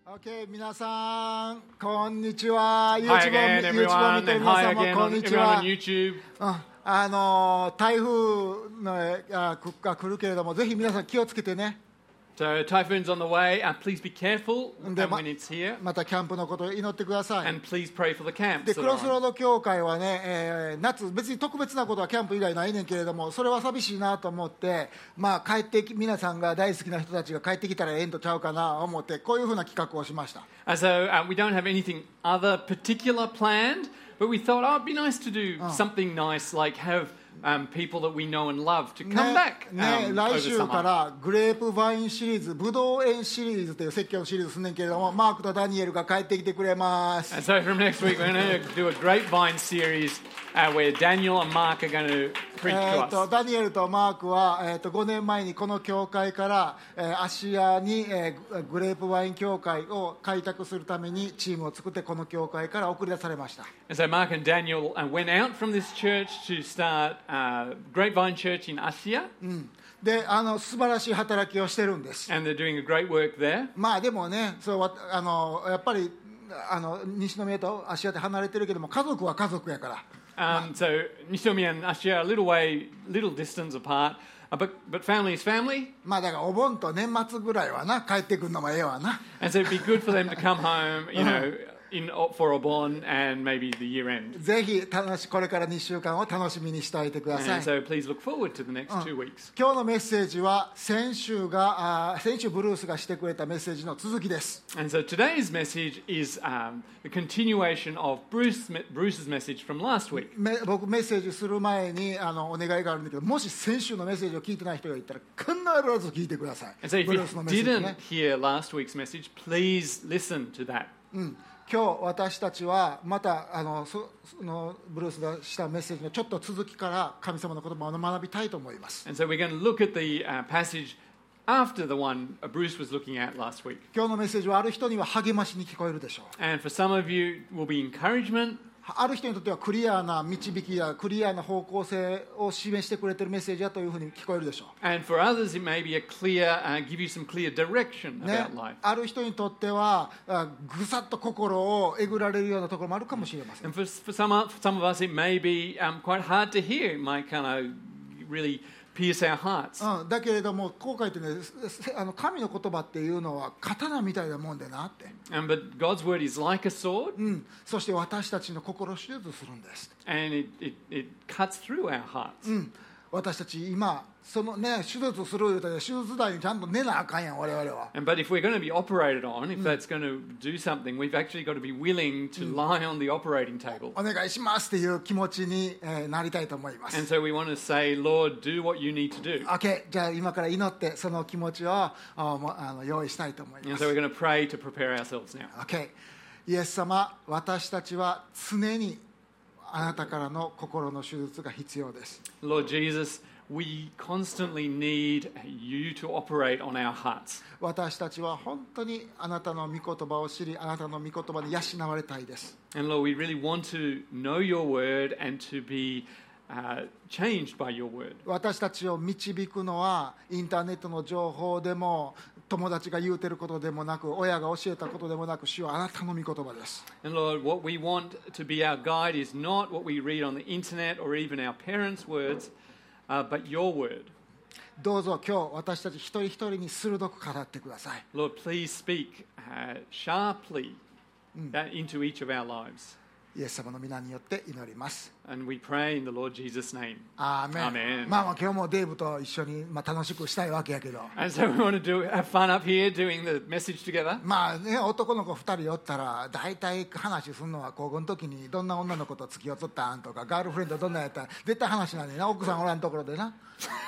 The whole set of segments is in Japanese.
Okay, 皆さんこんにちは。 Hi again, everyone, 見てる and 皆 hi さんも again こん on にち everyone は。 on YouTube. 台風が来るけれども、ぜひ皆さん気をつけてね。 So typhoon's on the way. Please be careful when it's here, またキャンプのことを祈ってください。 and please pray for the camps. で that ク are ロスロー on. ド教会はね、夏別に特別なことはキャンプ以外ないねんけれども、それは寂しいなと思って、皆さんが大好きな人たちが帰ってきたらええんとちゃうかなと思って、こういうふうな企画をしました。 And so we don't have anything other particular planned, but we thought, it'd be nice to do something nice, like have people that we know and love to come back 来 over 週か summer. らグレープワインシリーズ、ブドウ園シリーズという説教のシリーズすんねんけれども、マークとダニエルが帰ってきてくれます。 And so from next week, we're going to do a grapevine series where Daniel and Mark are going to preach to us. ダニエルとマークは、5年前にこの教会から、アシアに、グレープワイン教会を開拓するためにチームを作ってこの教会から送り出されました。 And so Mark and Daniel went out from this church to start Grapevine Church in Asia, で素晴らしい働きをしてるんです。 and they're doing a great work there. でもね、やっぱり西宮とアシアって離れてるけども、家族は家族やから。 So Nishomi and Asia are a little distance apart, but family is family. だからお盆と年末ぐらいはな、帰ってくるのもええわな。 And so it'd be good for them to come home, for Obon and maybe the year end. ぜひこれから2週間を楽しみにしておいてください。 And so please look forward to the next 2 weeks. 今日のメッセージは先週ブルースがしてくれたメッセージの続きです。 And so today's message is the continuation of Bruce's message from last week. 僕メッセージする前にお願いがあるんだけど、もし先週のメッセージを聞いてない人がいたら必ず聞いてください。 And so if ブ you ルースのメッセージ didn't ね。 hear last week's message, please listen to that. 今日私たちはまたそのブルースがしたメッセージのちょっと続きから神様の言葉を学びたいと思います。 And so we're going to look at the passage after the one Bruce was looking at last week. 今日のメッセージはある人には励ましに聞こえるでしょう。 And for some of you, it will be encouragement. ある人にとってはクリアな導きやクリアな方向性を示してくれているメッセージだというふうに聞こえるでしょう。 And for others, it may be give you some clear direction ね about life. ある人にとってはぐさっと心をえぐられるようなところもあるかもしれません。 And for some of us, it may be quite hard to hear. It might kind of really pierce our hearts. だけれどもこう書いてね、神の言葉っていうのは刀みたいなもんでなって、 But God's word is like a sword, そして私たちの心を手術するんです。 and it cuts through our hearts. 私たち今そのね、手術すると手術台にちゃんと寝なあかんやん、我々は。 But if we're going to be operated on, if that's going to do something, we've actually got to be willing to lie on the operating table. お願いしますっていう気持ちになりたいと思います。 And so we want to say, Lord, do what you need to do. OK、じゃあ今から祈ってその気持ちを用意したいと思い And ます。 so we're going to pray to prepare ourselves now. OK、イエス様、私たちは常にあなたからの心の手術が必要です。 Lord Jesus, we constantly need you to operate on our hearts. 私たちは本当にあなたの御言葉を知り、あなたの御言葉に養われたいです。 And Lord, we really want to know your word and to be changed by your word. 私たちを導くのはインターネットの情報でも友達が言うてることでもなく、親が教えたことでもなく、主はあなたの御言葉です。 And Lord, what we want to be our guide is not what we read on the internet or even our parents' words, but your word. どうぞ今日私たち一人一人に鋭く語ってください。 Lord, please speak sharply into each of our lives. イエス様の皆によって祈ります。 And we pray in the Lord Jesus' name. アーメン。 Amen. 今日もデーブと一緒に楽しくしたいわけやけど。 And so we want to have fun up here doing the message together. 男の子2人おったら大体話するのは高校の時にどんな女の子と付き合っとったんとか、ガールフレンドどんなやったら絶対話なんでな、奥さんおらんところでな。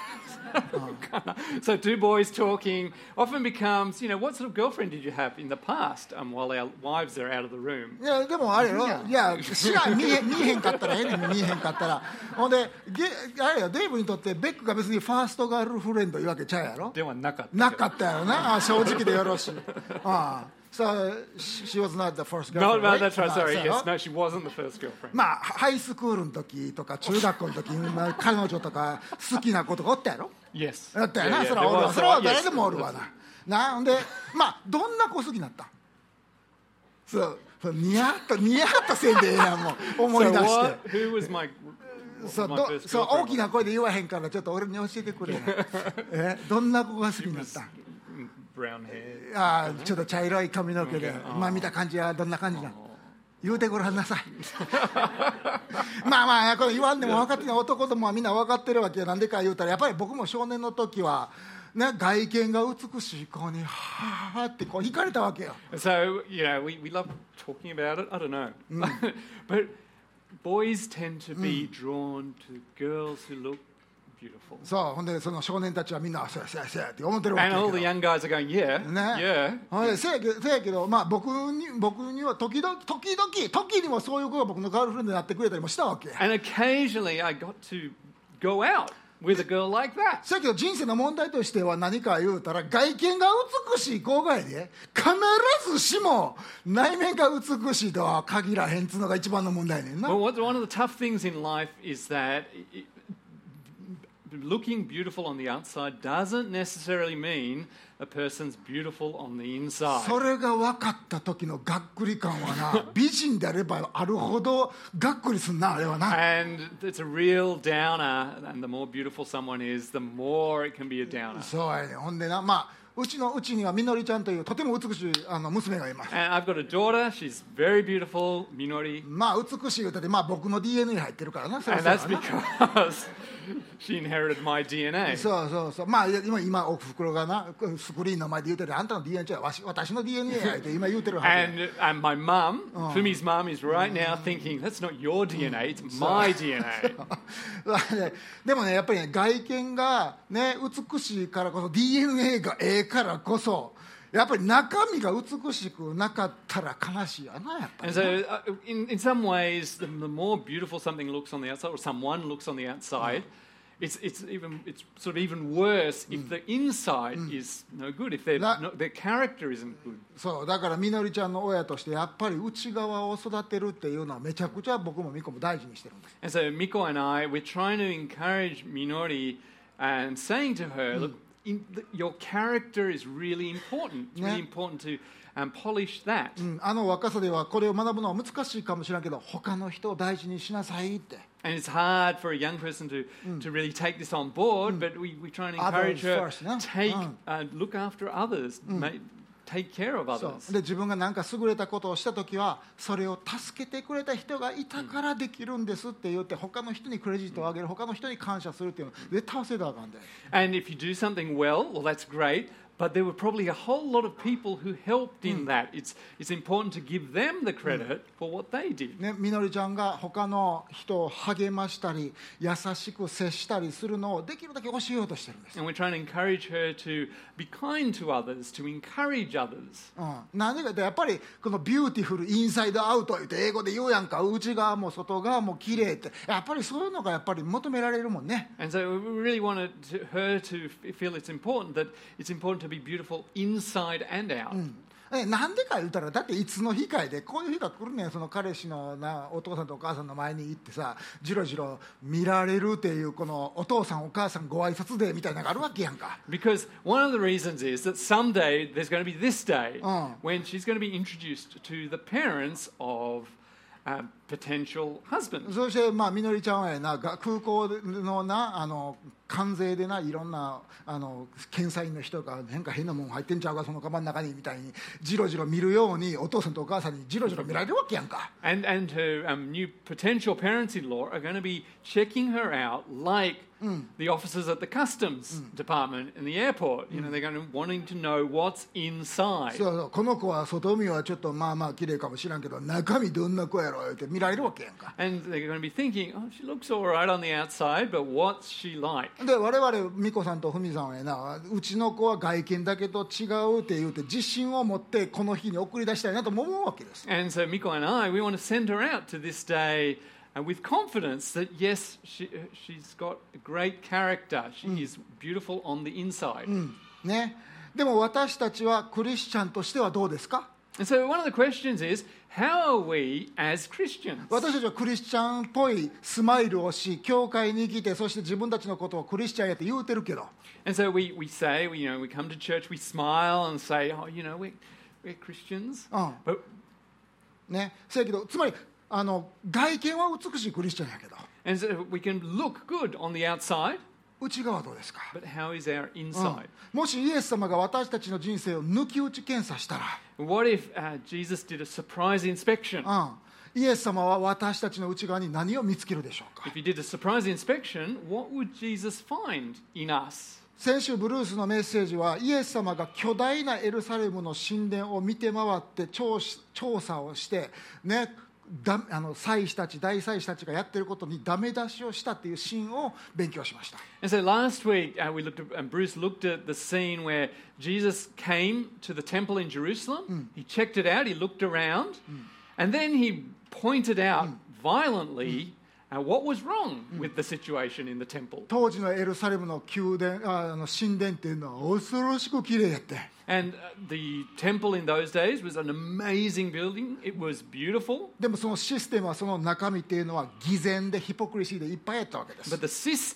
So two boys talking often becomes, what sort of girlfriend did you have in the past while our wives are out of the room? いやでもあれよ、いや見えへんかったらええねん、見えへんかったら。ほんであれよ、デーブにとってベックが別にファーストガールフレンドいうわけちゃうやろ。 ではなかった。 なかったやろな。正直でよろしい。So she was not the first girlfriend. No, right? that's right. Sorry. そう Yes, no, she wasn't the first girlfriend. ハイスクールの時とか中学校の時彼女とか好きな子とかおったやろ。 Yes. だったよな。 Yeah, それはおるわ。 there was. それは誰でもおるわな。ほんでどんな子好きになった？ そうニヤッとせんでええやんもう思い So 出して what? Who was my そう my ど first そう girlfriend? 大きな声で言わへんからちょっと俺に教えてくれどんな子が好きになったん Brown hair. あーちょっと茶色い髪の毛で、今見た感じはどんな感じなの言うてごらんなさいまあこれ言わんでも分かってない男どもはみんな分かってるわけよ。なんでか言うたらやっぱり僕も少年の時は、ね、外見が美しい子にはーってこう惹かれたわけよ。 So, we love talking about it. I don't know. But boys tend to be drawn to girls who look beautiful. そうほんでその少年たちはみんなそうやって思ってるわけ And や all け the ど young guys are going, yeah, ね yeah. ほんでせやけど、まあ、僕には時にもそういう子が僕のガールフレンドになってくれたりもしたわけや。 And occasionally I got to go out with a girl like that. せやけど人生の問題としては何か言うたら外見が美しい子がやで必ずしも内面が美しいとは限らへんっつうのが一番の問題やねんな。 Well, one of the tough things in life is that looking beautiful on the outside doesn't necessarily mean a person's beautiful on the inside. それが分かった時のがっくり感はな美人であればあるほどがっくりすんなあれはな。 And it's a real downer, and the more beautiful someone is, the more it can be a downer. そうやね。ほんでな、まあうちにはみのりちゃんというとても美しい娘がいます。 And I've got a daughter, she's very beautiful, Minori. まあ美しい歌で、まあ僕の DNA 入ってるからな。そりゃ And そうや that's な because she inherited my DNA. そうまあ今おふくろがなスクリーンの前で言うてるあんたの DNA は私の DNA やって今言うてるはずや。 And my mum, Fumi's mum, is right now thinking, that's not your DNA, it's my DNA. でもねやっぱりね外見がね美しいからこそ DNA がええからこそやっぱり中身が美しくなかったら悲しいよなやっぱり And so, in some ways, the more beautiful something looks on the outside, or someone looks on the outside, it's sort of even worse if the inside is no good, if their character isn't good. そうだからみのりちゃんの親としてやっぱり内側を育てるっていうのはめちゃくちゃ僕もミコも大事にしてるんです。 And so Miko and I, we're trying to encourage Minori and saying to her, look, your character is really important. It's really important to polish that. あの若さではこれを学ぶのは難しいかもしれんけど他の人を大事にしなさいって。 And it's hard for a young person to really take this on board, but we try and encourage her, Others first, no? look after others, take care of そう others. で自分が何か優れたことをしたときはそれを助けてくれた人がいたからできるんですって言って他の人にクレジットをあげる他の人に感謝するっていうの絶対忘れたらあかんで。 And if you do something well, that's great. But there were probably a whole lot of people who helped in that. It's important to give them the credit for what they did. ね、みのりちゃんが他の人を励ましたり優しく接したりするのをできるだけ教えようとしてるんです。 And we're trying to encourage her to be kind to others, to encourage others. なんでかってやっぱりこのビューティフルインサイドアウト言って英語で言うやんか内側も外側も綺麗ってやっぱりそういうのがやっぱり求められるもんね。 And so we really wanted her to feel it's important to be beautiful inside and out. なんでか言うたらだっていつの日かいでこういう日が来るねん。その彼氏のなお父さんとお母さんの前に行ってさじろじろ見られるっていうこのお父さんお母さんご挨拶デーみたいなのがあるわけやんか。 Because one of the reasons is that someday there's going to be this day when she's going to be introduced to the parents of potential husbands. そしてまあみのりちゃんはやな空港のな関税でないろんな検査員の人が変なもん入ってんちゃうかそのカバンの中にみたいにじろじろ見るようにお父さんとお母さんにじろじろ見られるわけやんか。 And her new potential parents-in-law are going to be checking her out like the officers at the customs department in the airport. You know, they're going to wanting to know what's inside. そうこの子は外見はちょっとまあまあ綺麗かもしらんけど中身どんな子やろって見られるわけやんか。 And they're going to be thinking, oh, she looks all right on the outside, but what's she like? で我々美子さんとふみさんはやなうちの子は外見だけと違うって言うて自信を持ってこの日に送り出したいなと思うわけです。 And so Miko and I, we want to send her out to this day with confidence that, yes, she's got a great character. She is beautiful on the inside. ね、でも私たちはクリスチャンとしてはどうですか。 And so one of the questions is, how are we as Christians? 私たちはクリスチャンっぽいスマイルをし教会に来てそして自分たちのことをクリスチャンやって言うてるけど And so we say, we come to church, we smile and say, oh, we're Christians. But ね、せやけどつまり外見は美しいクリスチャンやけど And so we can look good on the outside, 内側はどうですか、 but how is our inside? もしイエス様が私たちの人生を抜き打ち検査したら、 What if Jesus did a surprise inspection? イエス様は私たちの内側に何を見つけるでしょうか。 If he did a surprise inspection, what would Jesus find in us? 先週ブルースのメッセージはイエス様が巨大なエルサレムの神殿を見て回って調査をしてね、祭司たち大祭司たちがやっていることにダメ出しをしたっていうシーンを勉強しました。 And so last week Bruce looked at the scene where Jesus came to the temple in Jerusalem. He checked it out, he looked around, and then he pointed out violently what was wrong with the situation in the temple. 当時のエルサレムの神殿っていうのは恐ろしく綺麗やって。 And the temple in those days was an amazing building. It was beautiful. でもそのシステムはその中身っていうのは偽善でヒポクリシーでいっぱいやったわけです。 But the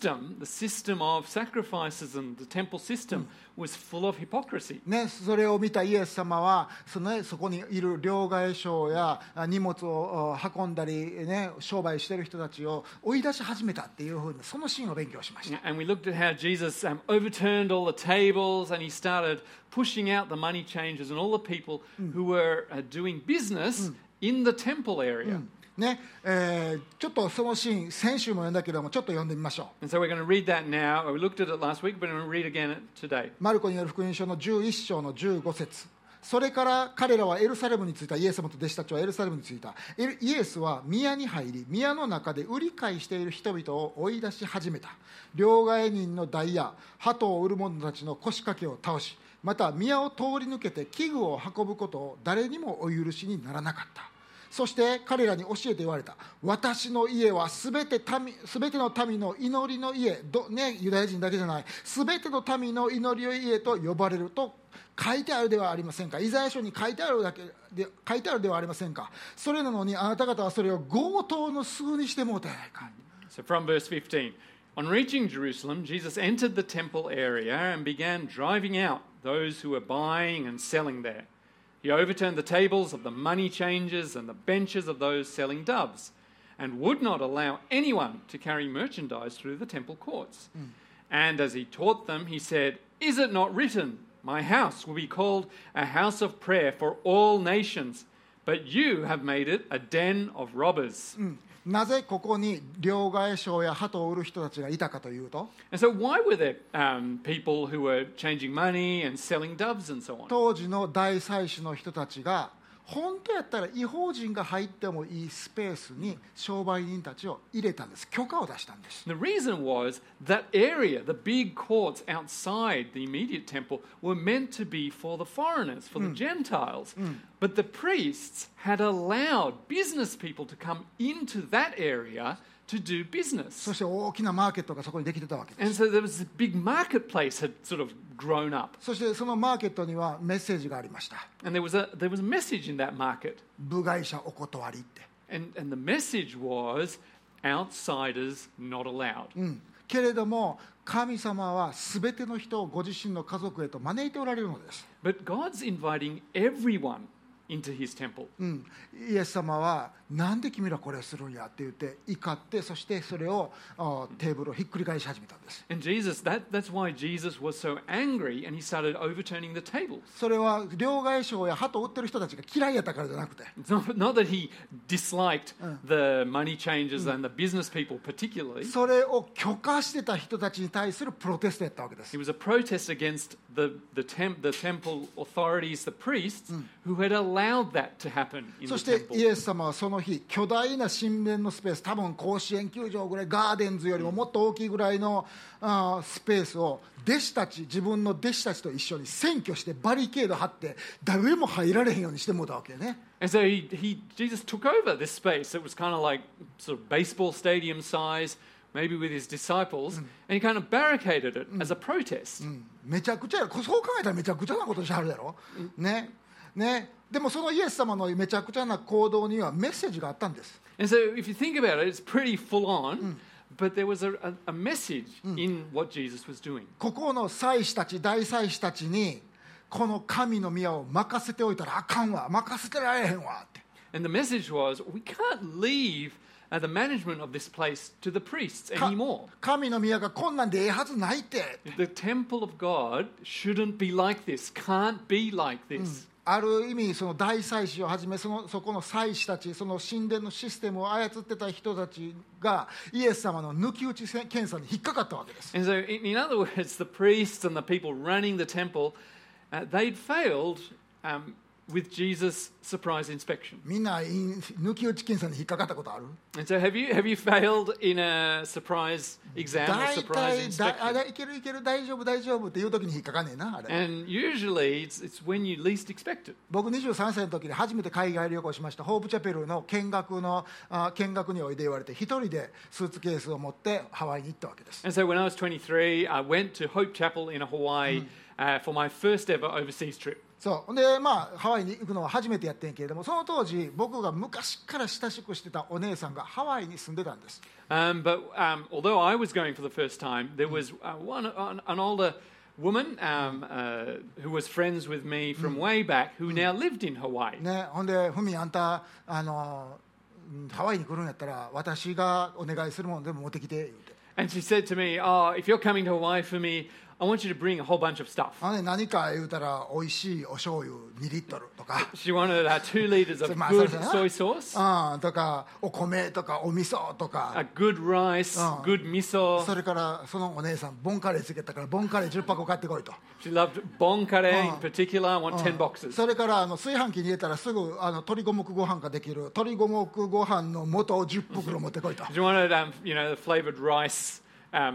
system of sacrifices and the temple system was full of hypocrisy. ね、それを見たイエス様はそこにいる両替商や荷物を運んだり、ね、商売してる人たちを追い出し始めたっていうふうにそのシーンを勉強しました。 And we looked at how Jesus overturned all the tables and he started pushing out the money changers and all the people who were doing business in the temple area. ね、ちょっとそのシーン先週も読んだけどもちょっと読んでみましょう。 And so we're going to read that now. We looked at it last week, but we're going to read again today. マルコによる福音書の11章の15節。それから彼らはエルサレムに着いた。イエス様と弟子たちはエルサレムに着いた。イエスは宮に入り、宮の中で売り買いしている人々を追い出し始めた。両替人の台や鳩を売る者たちの腰掛けを倒し、また宮を通り抜けて器具を運ぶことを誰にもお許しにならなかった。そして彼らに教えて言われた。私の家はすべての民の祈りの家、ユダヤ人だけじゃない、すべての民の祈りの家と呼ばれると書いてあるではありませんか。イザヤ書に書いてあるではありませんか。それなのにあなた方はそれを強盗の巣にしてもうたやないか。 So from verse 15, on reaching Jerusalem, Jesus entered the temple area and began driving out those who were buying and selling there. He overturned the tables of the money changers and the benches of those selling doves, and would not allow anyone to carry merchandise through the temple courts. And as he taught them, he said, "Is it not written, My house will be called a house of prayer for all nations, but you have made it a den of robbers." なぜここに両替商や鳩を売る人たちがいたかというと、 And so why were there people who were changing money and selling doves and so on? 当時の大祭司の人たちが本当やったら異邦人が入ってもいいスペースに商売人たちを入れたんです。許可を出したんです。 The reason was that area, the big courts outside the immediate temple, were meant to be for the foreigners, for the Gentiles. But the priests had allowed business people to come into that area to do business. そして大きなマーケットがそこにできてたわけです。 And so there was a big marketplace had sort of grown up. そしてそのマーケットにはメッセージがありました。 And there was a message in that market. 部外者お断りって。 And the message was outsiders not allowed. けれども神様は全ての人をご自身の家族へと招いておられるのです。 But God's inviting everyone into his temple. イエス様はなんで君らこれをするんやって言って怒って、そしてそれをテーブルをひっくり返し始めたんです。 And that's why Jesus was so angry and he started overturning the tables. それは両替商や鳩を売ってる人たちが嫌いやったからじゃなくて、 It's not that he disliked the money changers and the business people particularly. それを許可してた人たちに対するプロテストやったわけです。 It was a protest against the temple authorities, the priests, who had allowed that to happen in そ the して temple. イエス様はその日巨大な神殿のスペース、多分甲子園球場ぐらい、ガーデンズよりももっと大きいぐらいのスペースを自分の弟子たちと一緒に占拠してバリケード張って誰も入られへんようにしてもらったわけね。 And so Jesus took over this space. It was kind of like sort of baseball stadium size, maybe with his disciples, and he kind of barricaded it as a protest. めちゃくちゃやろ。そう考えたらめちゃくちゃなことしはるやろ、ね。でもそのイエス様のめちゃくちゃな行動にはメッセージがあったんです。 And so if you think about it, it's pretty full on, but there was a message in what Jesus was doing. ここの祭司たち、大祭司たちにこの神の宮を任せておいたらあかんわ、任せてられへんわって。 And the message was, we can't leave the management of this place to the priests anymore. 神の宮がこんなんでええはずないって。 The temple of God shouldn't be like this, can't be like this. ある意味その大祭司をはじめそこの祭司たち、その神殿のシステムを操ってた人たちがイエス様の抜き打ち検査に引っかかったわけです。 And so, in other words, the priests and the people running the temple, they'd failed with Jesus' surprise inspection. みんな抜き打ち検査に引っかかったことある？ And so, have you failed in a surprise exam or surprise inspection? いけるいける大丈夫大丈夫っていう時に引っかかんねえなあれ。 And usually, it's when you least expect it. 僕23歳の時に初めて海外旅行しました。ホープチャペルの見学においで言われて一人でスーツケースを持ってハワイに行ったわけです。 And so, when I was 23, I went to Hope Chapel in Hawaii for my first ever overseas trip. そうでハワイに行くのは初めてやってんけれども、その当時僕が昔から親しくしてたお姉さんがハワイに住んでたんです。 But although I was going for the first time, there was an older woman who was friends with me from way back who now lived in Hawaii. ね、ほんでふみあんたハワイに来るんやったら私がお願いするものでも持ってきて言うて。 And she said to me, "Oh, if you're coming to Hawaii for me, I want you to bring a whole bunch of stuff." 何か言うたら美味しいお醤油2リットルとか。 She wanted 2 liters of good soy sauce. とかお米とかお味噌とか。 A good rice, good miso. それからそのお姉さんボンカレーつけたからボンカレー10箱買ってこいと。 She loved bon curry in particular. I want 10 boxes. それから炊飯器に入れたらすぐ鶏五目ご飯ができる鶏五目ご飯の素を10袋持ってこいと。 She wanted the flavored rice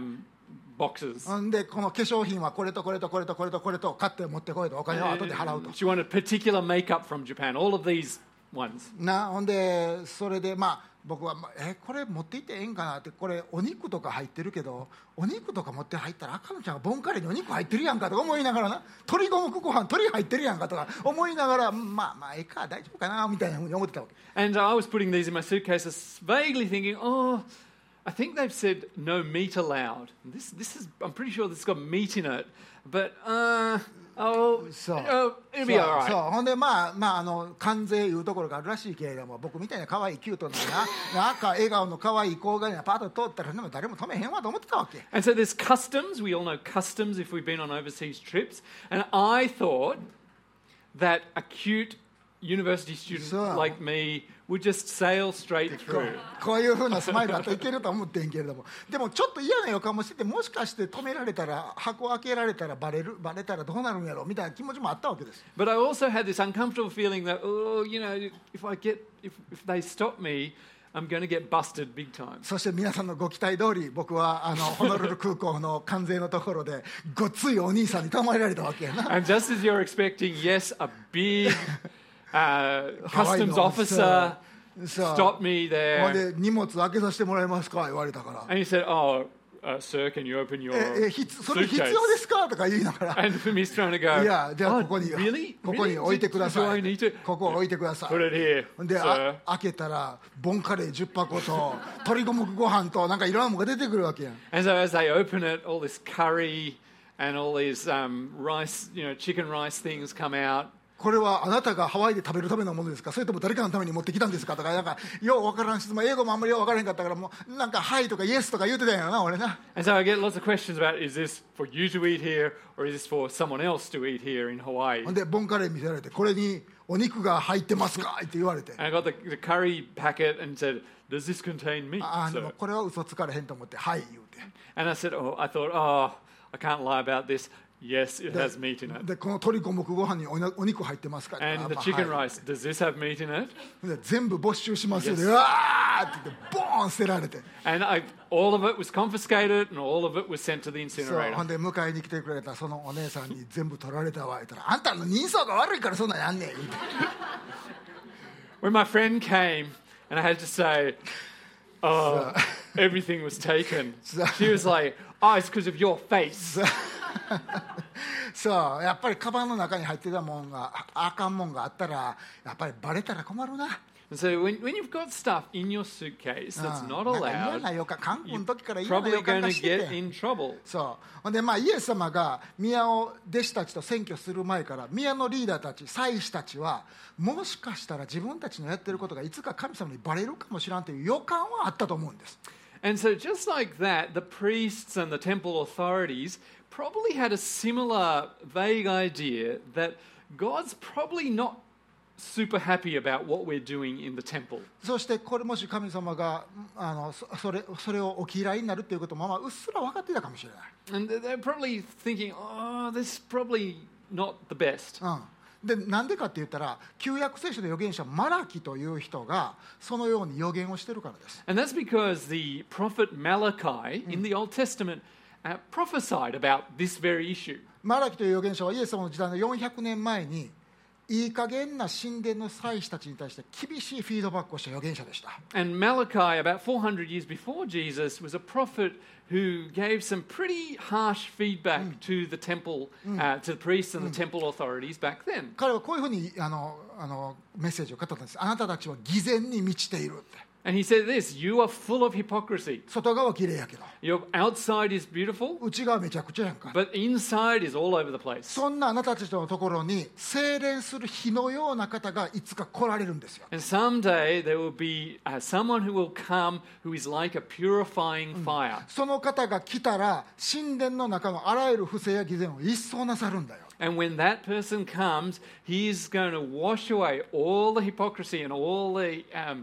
boxes. でこの化粧品はこれとこれとこれとこれとこれと買って持ってこいと、お金を後で払うと。 She wanted particular makeup from Japan. All of these ones. ほんでそれで僕はこれ持って行ってええんかなって、これお肉とか入ってるけどお肉とか持って入ったらあかんのちゃんボンカレーにお肉入ってるやんかとか思いながらな、鶏五目ご飯鶏入ってるやんかとか思いながらええか大丈夫かなみたいなふうに思ってたわけ。 And I was putting these in my suitcases, vaguely thinking, I think they've said no meat allowed. This is I'm pretty sure this has got meat in it, but it'll be all right. ほんで関税いうところがあるらしいけれども、僕みたいな可愛いキュートななんか笑顔の可愛い子がパッと通ったら誰も止めへんわと思ってたわけ。 And so there's customs. We all know customs if we've been on overseas trips. And I thought that a cute university student like me would just sail straight through. こういう風なスマイルだといけると思ってんけれども、でもちょっと嫌な予感もしてて、もしかして止められたら箱開けられたらバレたらどうなるんやろみたいな気持ちもあったわけです。 But I also had this uncomfortable feeling that if they stop me, I'm going to get busted big time. そして皆さんのご期待通り、僕はホノルル空港の関税のところでごっついお兄さんに止められたわけやな。 And just as you're expecting, yes, a big customs officer stopped me there. ほんで荷物開けさせてもらえますか言われたから。 And he said, sir, can you open your それ必要ですかとか言いながら。 And for me, he's trying to go, いやじゃあここに really? ここに置いてくださ Do I い。 need to ここ置いてください。 put it here, ほんで sir? 開けたらボンカレー10箱と鶏五目ご飯となんかいろんなものが出てくるわけやん。 And so as they open it, all this curry and all these rice, chicken rice things come out. これはあなたがハワイで食べるためのものですか、それとも誰かのために持ってきたんですかとか、なんかよう分からん質問、英語もあんまりよう分からへんかったから、もうなんかはいとかイエスとか言うてたんやろな俺な。 And so I get lots of questions about, is this for you to eat here or is this for someone else to eat here in Hawaii? ほんでボンカレー見せられて、これにお肉が入ってますかって言われて、 And I got the curry packet and said, does this contain meat? でもこれは嘘つかれへんと思ってはい言うて、 And I thought, I can't lie about this. Yes, it has meat in it. でこの鶏五目ご飯にお肉入ってますか。 And the chicken rice, does this have meat in it? で全部没収しますよね。うわーって言ってボーン捨てられて、 And all of it was confiscated and all of it was sent to the そう incinerator. ほんで迎えに来てくれたそのお姉さんに全部取られたわ言ったら、あんたの人相が悪いからそんなんやんねん言うて。 When my friend came and I had to say, everything was taken, she was like, it's because of your face. そうやっぱりカバンの中に入ってたもんがあかんもんがあったらやっぱりバレたら困るな。 So when you've got stuff in your suitcase that's not なんか嫌 allowed, な予感、韓国の時から you're 嫌な予 probably 感 going が to して get て、 in trouble. そうほんでイエス様が宮を弟子たちと選挙する前から宮のリーダーたち祭司たちはもしかしたら自分たちのやってることがいつか神様にバレるかもしれんという予感はあったと思うんです。 And so just like that, the priests and the temple authorities probably had a similar vague idea that God's probably not super happy about what we're doing in the temple. そしてこれもし神様がそれをお嫌いになるということもうっすら分かっていたかもしれない。 And they're probably thinking, oh, this is probably not the best. でなんでかって言ったら旧約聖書の預言者マラキという人がそのように預言をしているからです。 And that's because the prophet Malachi in the Old Testament prophesied about this very issue. マラキという預言者はイエス様の時代の400年前にいい加減な神殿の祭司たちに対して厳しいフィードバックをした預言者でした。 And Malachi, about 400 years before Jesus, was a prophet who gave some pretty harsh feedback to the temple, to the priests and the temple authorities back then. 彼はこういうふうにメッセージを語ったんです。あなたたちは偽善に満ちているって。 And he said this, you are full of hypocrisy. 外側は綺麗やけど Your outside is beautiful, 内側めちゃくちゃやんか。 but inside is all over the place. そんなあなたたちのところに精錬する火のような方がいつか来られるんですよ。 And someday there will be someone who will come who is like a purifying fire. その方が来たら神殿の中のあらゆる不正や偽善を一掃なさるんだよ。 And when that person comes, he's going to wash away all the hypocrisy and all the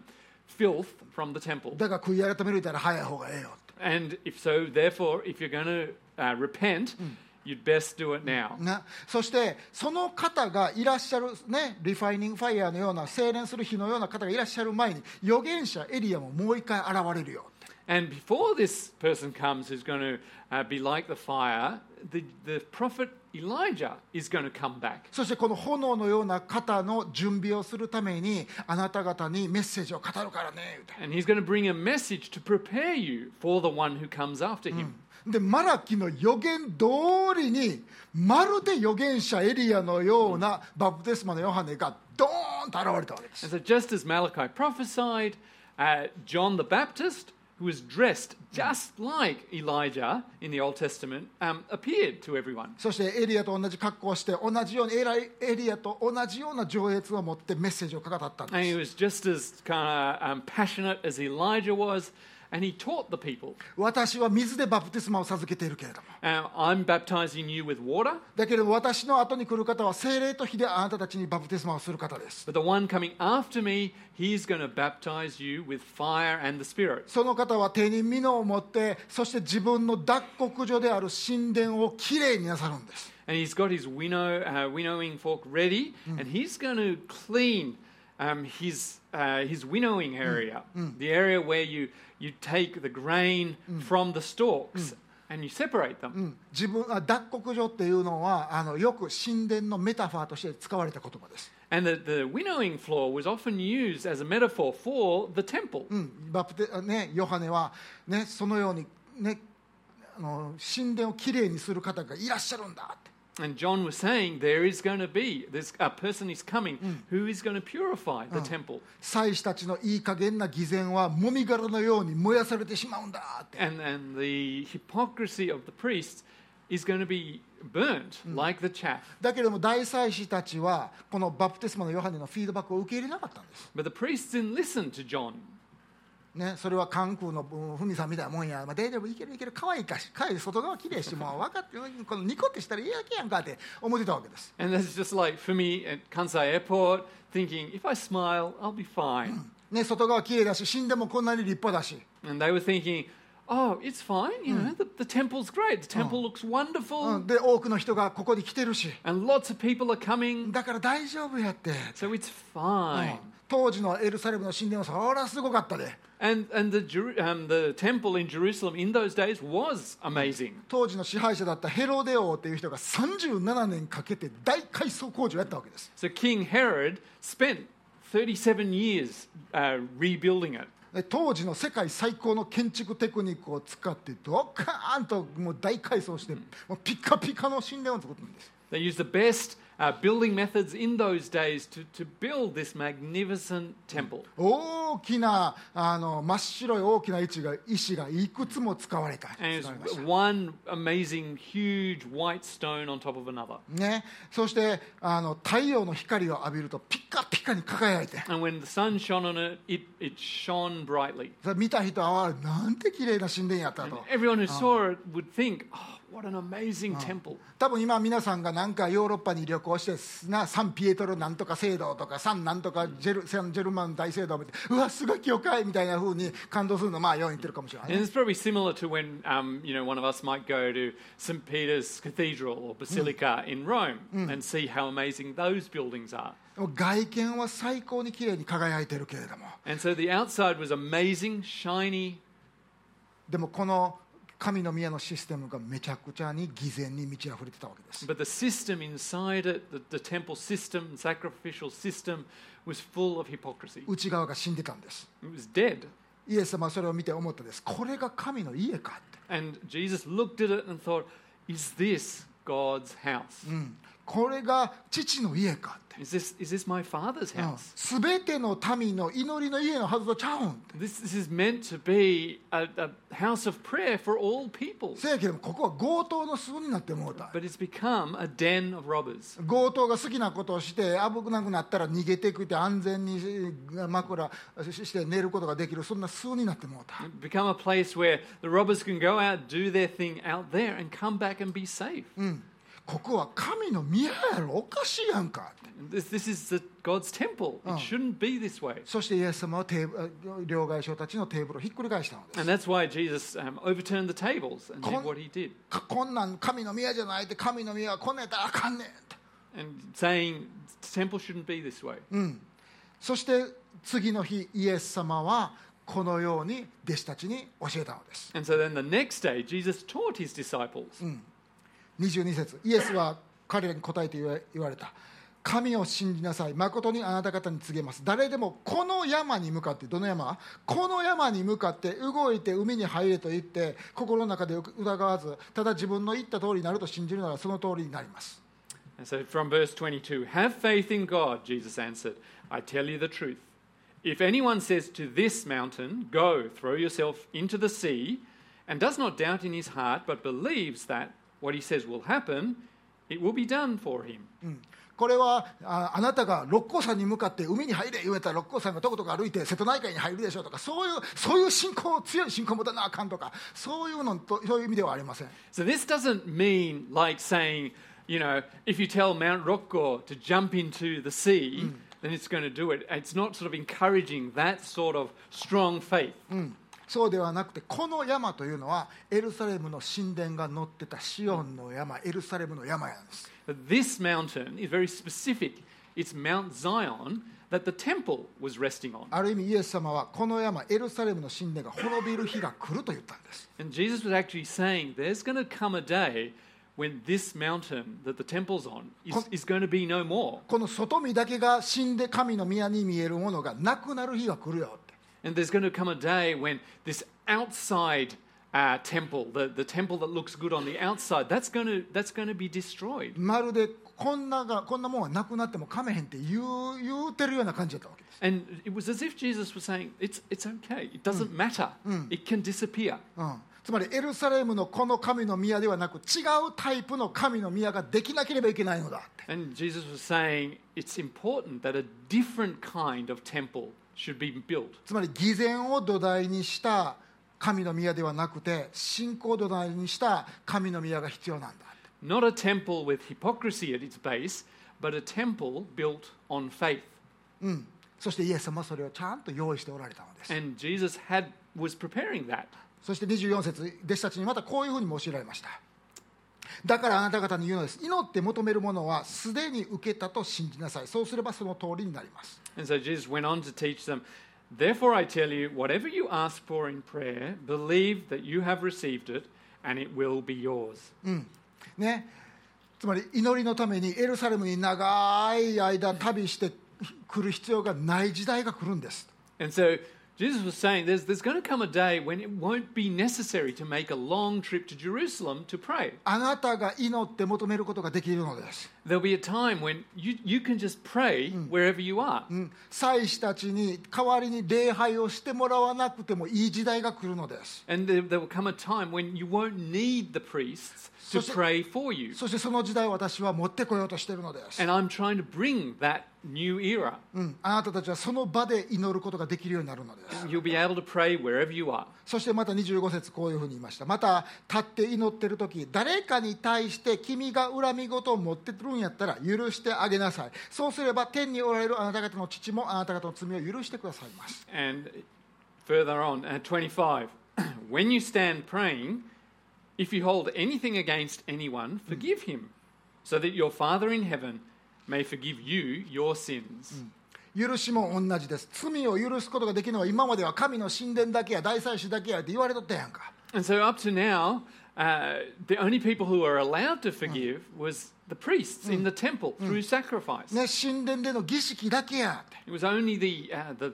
filth from the temple. だから悔い改めるたら早い方がええよって。 And if so, therefore, if you're going to repent, you'd best do it now. そしてその方がいらっしゃるね、リファイニングファイヤーのような精錬する火のような方がいらっしゃる前に預言者エリアももう一回現れるよ。 And before this person comes who's going to be like the fire, the prophet Elijah is going to come back. そしてこの炎のような方の準備をするためにあなた方にメッセージを語るからね。 And he's going to bring a message to prepare you for the one who comes after him. でマラキの予言通りにまるで預言者エリアのようなバプテスマのヨハネがドーンと現れたわけです。 And so just as Malachi prophesied, John the Baptist, who was dressed just like Elijah in the Old Testament, appeared to everyone. そしてエリアと同じ格好をして同じようにエリアと同じような情熱を持ってメッセージを語ったん And he です。 was just as kind of passionate as Elijah was, and he taught the people. 私は水でバプテスマを授けているけれども I'm baptizing you with water, だけれども私の後に来る方は聖霊と火であなたたちにバプテスマをする方です。 but the one coming after me, he's going to baptize you with fire and the Spirit. その方は手に蓑を持ってそして自分の脱穀所である神殿をきれいになさるんです。 And he's got his winnowing fork ready, and he's going to clean his winnowing area, the area where you take the grain from the stalks and you separate them. 脱穀所っていうのはよく神殿のメタファーとして使われた言葉です。 And the winnowing floor was often used as a metaphor for the temple. ヨハネは、ね、そのように、ね、神殿をきれいにする方がいらっしゃるんだって。 And John was saying there is going to be, a person is coming who is going to purify the temple. 祭司たちのいい加減な偽善はもみ殻のように燃やされてしまうんだって。 And the hypocrisy of the priests is going to be burnt like the chaff. だけれども大祭司たちはこのバプテスマのヨハネのフィードバックを受け入れなかったんです。 But the priests didn't listen to John. ね、それは関空のふみさんみたいなもんや、大丈夫いける可愛いかし外側きれいしもう分かってこのニコってしたらいいだけやんかって思ってたわけです。 And that's just like for me at Kansai Airport, thinking if I smile, I'll be fine. ね、外側きれいだし死んでもこんなに立派だし。 And they were thinking, oh, it's fine, you know, the temple's great. The temple looks wonderful. で多くの人がここに来てるし。 And lots of people are coming. だから大丈夫やって。 So it's fine. 当時のエルサレムの神殿はそりゃすごかったで。 And the temple in Jerusalem in those days was amazing. 当時の支配者だったヘロデ王という人が37年かけて大改装工事をやったわけです。 So King Herod spent 37 years rebuilding it. 当時の世界最高の建築テクニックを使ってドカーンともう大改装してもうピカピカの神殿を作ったんです。 They used the best building methods in those days to build this magnificent temple. 大きな真っ白い大きな石がいくつも使われた。 And it's one amazing, huge white stone on top of another. ね、そして太陽の光を浴びるとピカピカに輝いて、 And when the sun shone on it, it shone brightly. 見た人はなんて綺麗な神殿やった And と。 everyone who saw it would think, oh, what an amazing temple. 多分今皆さんがなんかヨーロッパに旅行してサンピエトロなんとか聖堂とかサンなんとかジェルマン大聖堂を見て、うわすごい教会みたいな風に感動するのように言ってるかもしれないね。 And it's probably similar to when one of us might go to St. Peter's Cathedral or Basilica in Rome and see how amazing those buildings are. 外見は最高に綺麗に輝いてるけれども、 And so the outside was amazing, shiny. でもこの神の宮のシステムがめちゃくちゃに偽善に満ち溢れてたわけです。 But the system inside it, the temple system, the sacrificial system, was full of hypocrisy. 内側が死んでたんです。 It was dead. イエス様はそれを見て思ったです。これが神の家かって。 And Jesus looked at it and thought, is this God's house? これが父の家かって。 Is this my father's house? すべての民の祈りの家のはずとちゃうんって。 This is meant to be a house of prayer for all people. せやけどもここは強盗の巣になってもうた。 But it's become a den of robbers. 強盗が好きなことをして危なくなったら逃げてくって安全に枕して寝ることができる、そんな巣になってもうた。 It's become a place where the robbers can go out, do their thing out there, and come back and be safe. ここは神の宮やろ、おかしいやんかって。 This is God's temple. It shouldn't be this way. そしてイエス様は両替商たちのテーブルをひっくり返したのです。 And that's why Jesus overturned the tables and did what he did. こんなん神の宮じゃないって、神の宮はこんなんやったらあかんねんって。 And saying the temple shouldn't be this way. そして次の日イエス様はこのように弟子たちに教えたのです。 And so then the next day, Jesus taught his disciples. 22節、イエスは彼らに答えて言われた。神を信じなさい。誠にあなた方に告げます。誰でもこの山に向かって、どの山？この山に向かって動いて海に入れと言って心の中で疑わず、ただ自分の言った通りになると信じるならその通りになります。 And so from verse 22, have faith in God, Jesus answered. I tell you the truth. If anyone says to this mountain, go, throw yourself into the sea, and does not doubt in his heart, but believes that what he says will happen, it will be done for him. これはあなたが六甲山に向かって海に入れ言われたら六甲山がとことか歩いて瀬戸内海に入るでしょうとか、そういう信仰、強い信仰を持たなあかんとか、そういう意味ではありません。 So this doesn't mean like saying, if you tell Mount Rokko to jump into the sea, then it's going to do it. It's not sort of encouraging that sort of strong faith. そうではなくて、この山というのはエルサレムの神殿が乗ってたシオンの山、エルサレムの山なんです。 But this mountain is very specific. It's Mount Zion that the temple was resting on. ある意味イエス様はこの山、エルサレムの神殿が滅びる日が来ると言ったんです。 And Jesus was actually saying there's going to come a day when this mountain that the temple's on is going to be no more. この外見だけが死んで神の宮に見えるものがなくなる日が来るよって。 And there's going to come a day when this outside temple, the temple that looks good on the outside, that's going to be destroyed. まるでこんなもんはなくなってもかめへんって言うてるような感じだったわけです。 And it was as if Jesus was saying, it's okay, it doesn't matter, it can disappear. つまりエルサレムのこの神の宮ではなく、違うタイプの神の宮ができなければいけないのだって。 And Jesus was saying it's important that a different kind of temple should be built. つまり偽善を土台にした神の宮ではなくて、信仰を土台にした神の宮が必要なんだ。 Not a temple with hypocrisy at its base, but a temple built on faith. そしてイエス様はそれをちゃんと用意しておられたのです。 And Jesus was preparing that. そして24節、弟子たちにまたこういうふうにも教えられました。だからあなた方に言うのです。祈って求めるものはすでに受けたと信じなさい。そうすればその通りになります。 And so Jesus went on to teach them, therefore I tell you, whatever you ask for in prayer, believe that you have received it, and it will be yours. ね、つまり祈りのためにエルサレムに長い間旅して来る必要がない時代が来るんです。 And so Jesus was saying there's going to come a day when it won't be necessary to make a long trip to Jerusalem to pray. あなたが祈って求めることができるのです。 There'll be a time when you can just pray wherever you are. 祭司たちに代わりに礼拝をしてもらわなくてもいい時代が来るのです。 And there will come a time when you won't need the priests to pray for you. そしてその時代を私は持ってこようとしているのです。 And I'm trying to bring that new era. あなたたちはその場で祈ることができるようになるのです。 You'll be able to pray wherever you are. そしてまた25節こういうふうに言いました。また立って祈っているとき、誰かに対して君が恨み事を持ってくるんやったら許してあげなさい。そうすれば天におられるあなた方の父もあなた方の罪を許してくださいます。 And further on, 25. When you stand praying, if you hold anything against anyone, forgive him, so that your Father in heaven may forgive you your sins. 許しも同じです。罪を許すことができるのは今までは神の神殿だけや大祭司だけやって言われとったやんか。 And so up to now, the only people who were allowed to forgive was the priests in the temple through sacrifice. ね、神殿での儀式だけやって。 It was only the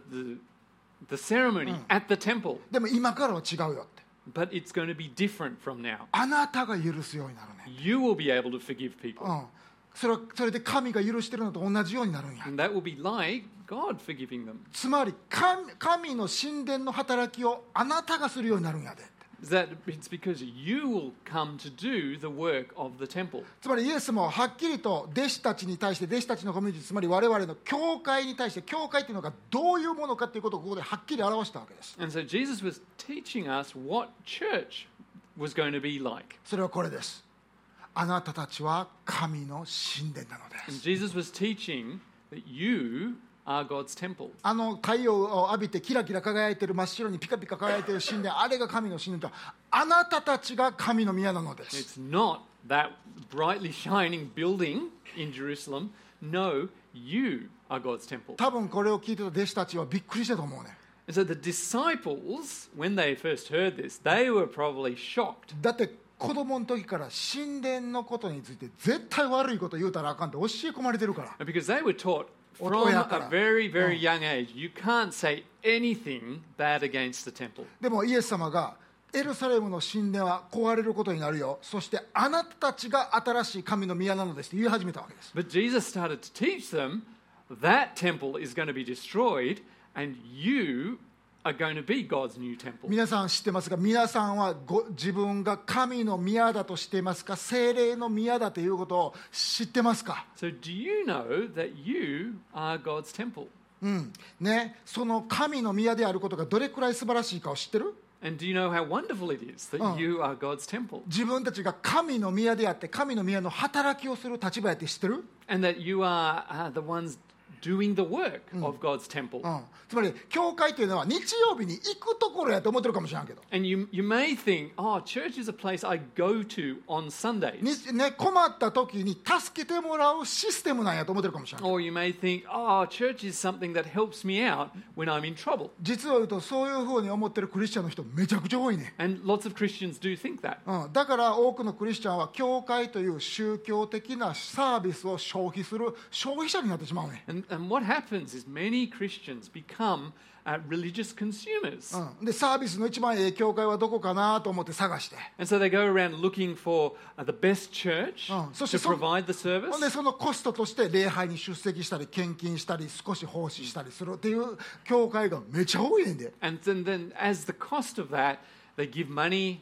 ceremony at the temple. でも今からは違うよって。 But it's going to be different from now. あなたが許すようになるね。 You will be able to forgive people. それで神が許してるのと同じようになるんや。 And that will be like God forgiving them. つまり神の神殿の働きをあなたがするようになるんやで。 That it's because you will come to do the work of the temple. つまりイエスもはっきりと弟子たちに対して弟子たちのコミュニティ、つまり我々の教会に対して教会というのがどういうものかということをここではっきり表したわけです。 And so Jesus was teaching us what church was going to be like. それはこれです。あなたたちは神の神殿なのです。 And Jesus was teaching that you are God's temple. 太陽を浴びてキラキラ輝いている真っ白にピカピカ輝いている神殿、あれが神の神殿と、あなたたちが神の宮なのです。 It's not that brightly shining building in Jerusalem. No, you are God's temple. 多分これを聞いてた弟子たちはびっくりしたと思うね。 And so the disciples, when they first heard this, they were probably shocked. だって子供の時から神殿のことについて絶対悪いこと言うたらあかんって教え込まれてるから。 Because they were taught from a very, very young age, you can't say anything bad against the temple. でもイエス様がエルサレムの神殿は壊れることになるよ。そしてあなたたちが新しい神の宮なのですって言い始めたわけです。 But Jesus started to teach them that temple is going to be destroyed and you are going to be God's new temple. 皆さん知ってますか？皆さんは自分が神の宮だと知っていますか？聖霊の宮だということを知ってますか？ So do you know that you are God's temple? ね、その神の宮であることがどれくらい素晴らしいかを知ってる？ And do you know how wonderful it is that you are God's temple? 自分たちが神の宮であって神の宮の働きをする立場やって知ってる？ And that you are the ones doing the work of God's temple. つまり教会というのは日曜日に行くところやと思ってるかもしれんけど。 And you may think, oh, church is a place I go to on Sundays. ね、困った時に助けてもらうシステムなんやと思ってるかもしれん。 Or you may think, oh, church is something that helps me out when I'm in trouble. 実を言うとそういうふうに思ってるクリスチャンの人めちゃくちゃ多いね。 And lots of Christians do think that. だから多くのクリスチャンは教会という宗教的なサービスを消費する消費者になってしまうね。 And what happens is many Christians become religious consumers. でサービスの一番いい教会はどこかなと思って探して。 And so they go around looking for the best church to provide the service. でそのコストとして礼拝に出席したり献金したり少し奉仕したりするっていう教会がめちゃ多いねんで。 And then as the cost of that, they give money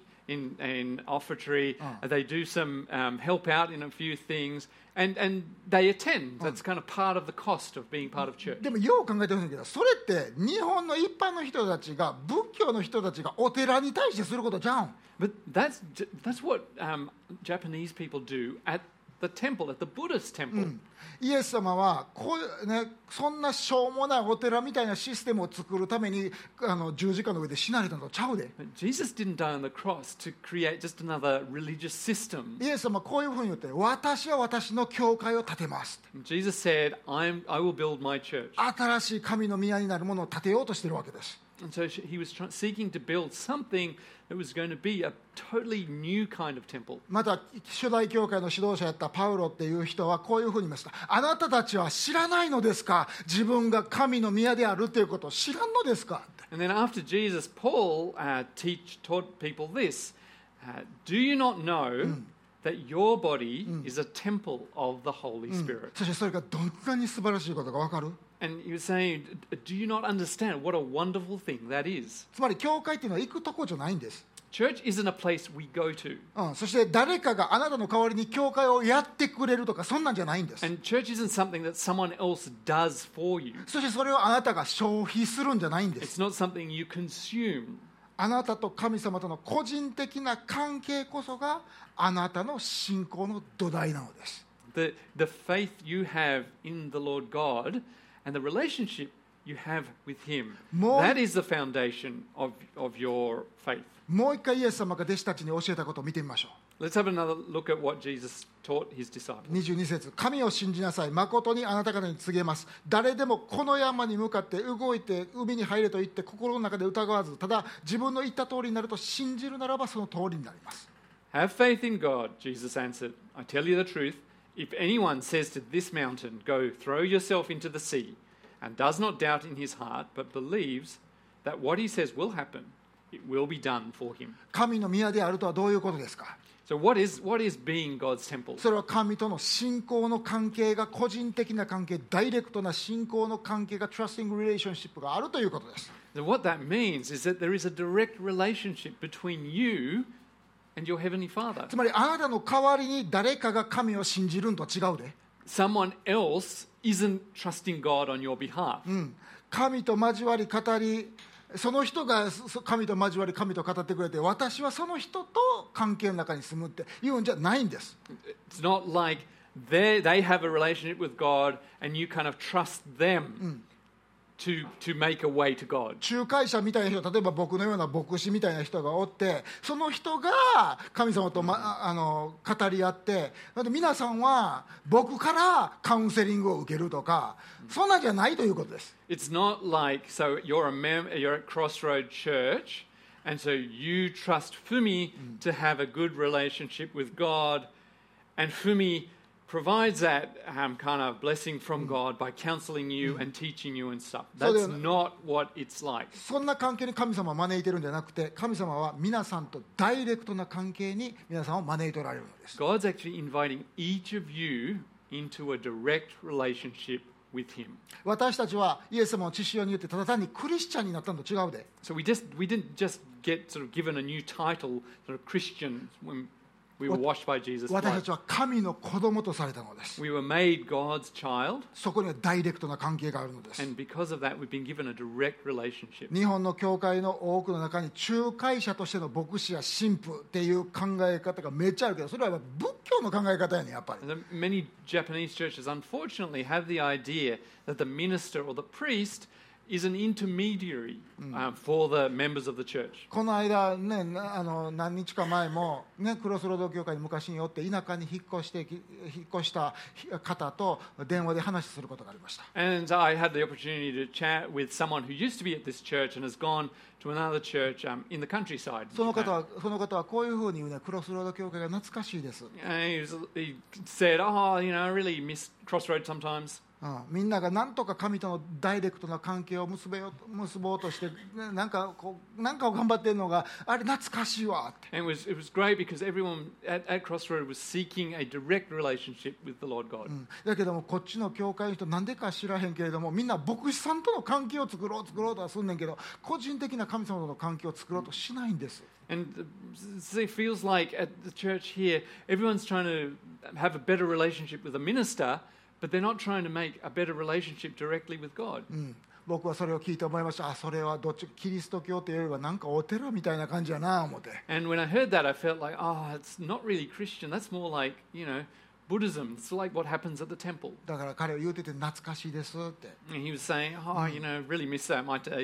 in offertory. They do some help out in a few things. And they attend. That's kind of part of the cost of being part of church. でもよう考えてほしいんだけど、それって日本の一般の人たちが仏教の人たちがお寺に対してすることじゃん。 But that's what Japanese people do at the temple, at the Buddhist temple. イエス様はこう、ね、そんなしょうもないお寺みたいなシステムを作るために十字架の上で死なれたのとちゃうで。 But Jesus didn't die on the cross to create just another religious system. イエス様はこういうふうに言って、私は私の教会を建てます。 Jesus said, I will build my church. 新しい神の宮になるものを建てようとしているわけです。 And so he was seeking to build something that was going to be a totally new kind of temple. また初代教会の指導者やったパウロっていう人はこういうふうに言いました。あなたたちは知らないのですか、自分が神の宮であるということを知らんのですか。 And then after Jesus, Paul taught people this. Do you not know that your body is a temple of the Holy Spirit? そしてそれがどんなに素晴らしいことか分かる？ And he was saying, do you not understand what a wonderful thing that is? つまり教会っていうのは行くとこじゃないんです。 Church isn't a place we go to. そして誰かがあなたの代わりに教会をやってくれるとかそんなんじゃないんです。 And church isn't something that someone else does for you. そしてそれをあなたが消費するんじゃないんです。 It's not something you consume. あなたと神様との個人的な関係こそがあなたの信仰の土台なのです。 The faith you have in the Lord God and the relationship you have with Him. That is the foundation of your faith. もう一回イエス様が弟子たちに教えたことを見てみましょう。 Let's have another look at what Jesus taught his disciples. 22節、神を信じなさい。誠にあなた方に告げます。誰でもこの山に向かって動いて海に入れと言って心の中で疑わず、ただ自分の言った通りになると信じるならばその通りになります。 Have faith in God, Jesus answered. I tell you the truth. If anyone says to this mountain, go throw yourself into the sea, and does not doubt in his heart, but believes that what he says will happen, it will be done for him. 神の宮であるとはどういうことですか？ So what is being God's temple? それは神との信仰の関係が個人的な関係、ダイレクトな信仰の関係が trusting relationship があるということです。 So what that means is that there is a direct relationship between you and your Heavenly Father. つまりあなたの代わりに誰かが神を信じるんとは違うで。 Someone else isn't trusting God on your behalf. 神と交わり語り、その人が神と交わり神と語ってくれて、私はその人と関係の中に住むっていうんじゃないんです。 It's not like they have a relationship with God and you kind of trust them to make a way to God. 仲介者みたいな人、例えば僕のような牧師みたいな人がおって、その人が神様と、語り合って、皆さんは僕からカウンセリングを受けるとか、そんなんじゃないということです。 It's not like, so you're at Crossroad Church and so you trust Fumi to have a good relationship with God, and Fumi provides that kind of blessing from God by counseling you and teaching you and stuff. That's not what it's like. そんな関係に神様を招いてるんじゃなくて、神様は皆さんとダイレクトな関係に皆さんを招いておられるのです。 God's actually inviting each of you into a direct relationship with Him. 私たちはイエス様の血潮によってただ単にクリスチャンになったのと違うで。 So we didn't just get sort of given a new title, sort of Christian, when we were washed by Jesus' 私た blood. ちは神の子供とされたのです。 We were made God's child, そこにはダイレクトな関係があるのです。 and because of that, we've been given a direct relationship. 日本の教会の多くの中に仲介者としての牧師や神父っていう考え方がめっちゃあるけど、それは仏教の考え方やねんやっぱり。 And many Japanese churches, unfortunately, have the idea that the minister or the priest is an intermediary for the members of the church. この間ね、何日か前も、ね、クロスロード教会に昔によって田舎に引っ越した方と電話で話することがありました。 And I had the opportunity to chat with someone who used to be at this church and has gone to another church in the countryside. その方はこういうふうに言うね、クロスロード教会が懐かしいです。 And he said, I really miss Crossroads sometimes. みんなが何とか神とのダイレクトな関係を結ぼうとして、なんかを頑張ってるのがあれ懐かしいわって。 And it was great because everyone at Crossroads was seeking a direct relationship with the Lord God. だけどもこっちの教会の人なんでか知らへんけれども、みんな牧師さんとの関係を作ろうとはすんねんけど、個人的な神様との関係を作ろうとしないんです。 And it feels like at the church here, everyone's trying to have a better relationship with the minister, but they're not trying to make a better relationship directly with God. 僕はそれを聞いて思いました。それはどっちキリスト教というよりはなんかお寺みたいな感じやな思って。 And when I heard that, I felt like, it's not really Christian. That's more like, Buddhism. It's like what happens at the temple. だから彼は言うてて懐かしいですって。 And he was saying, really miss that. My days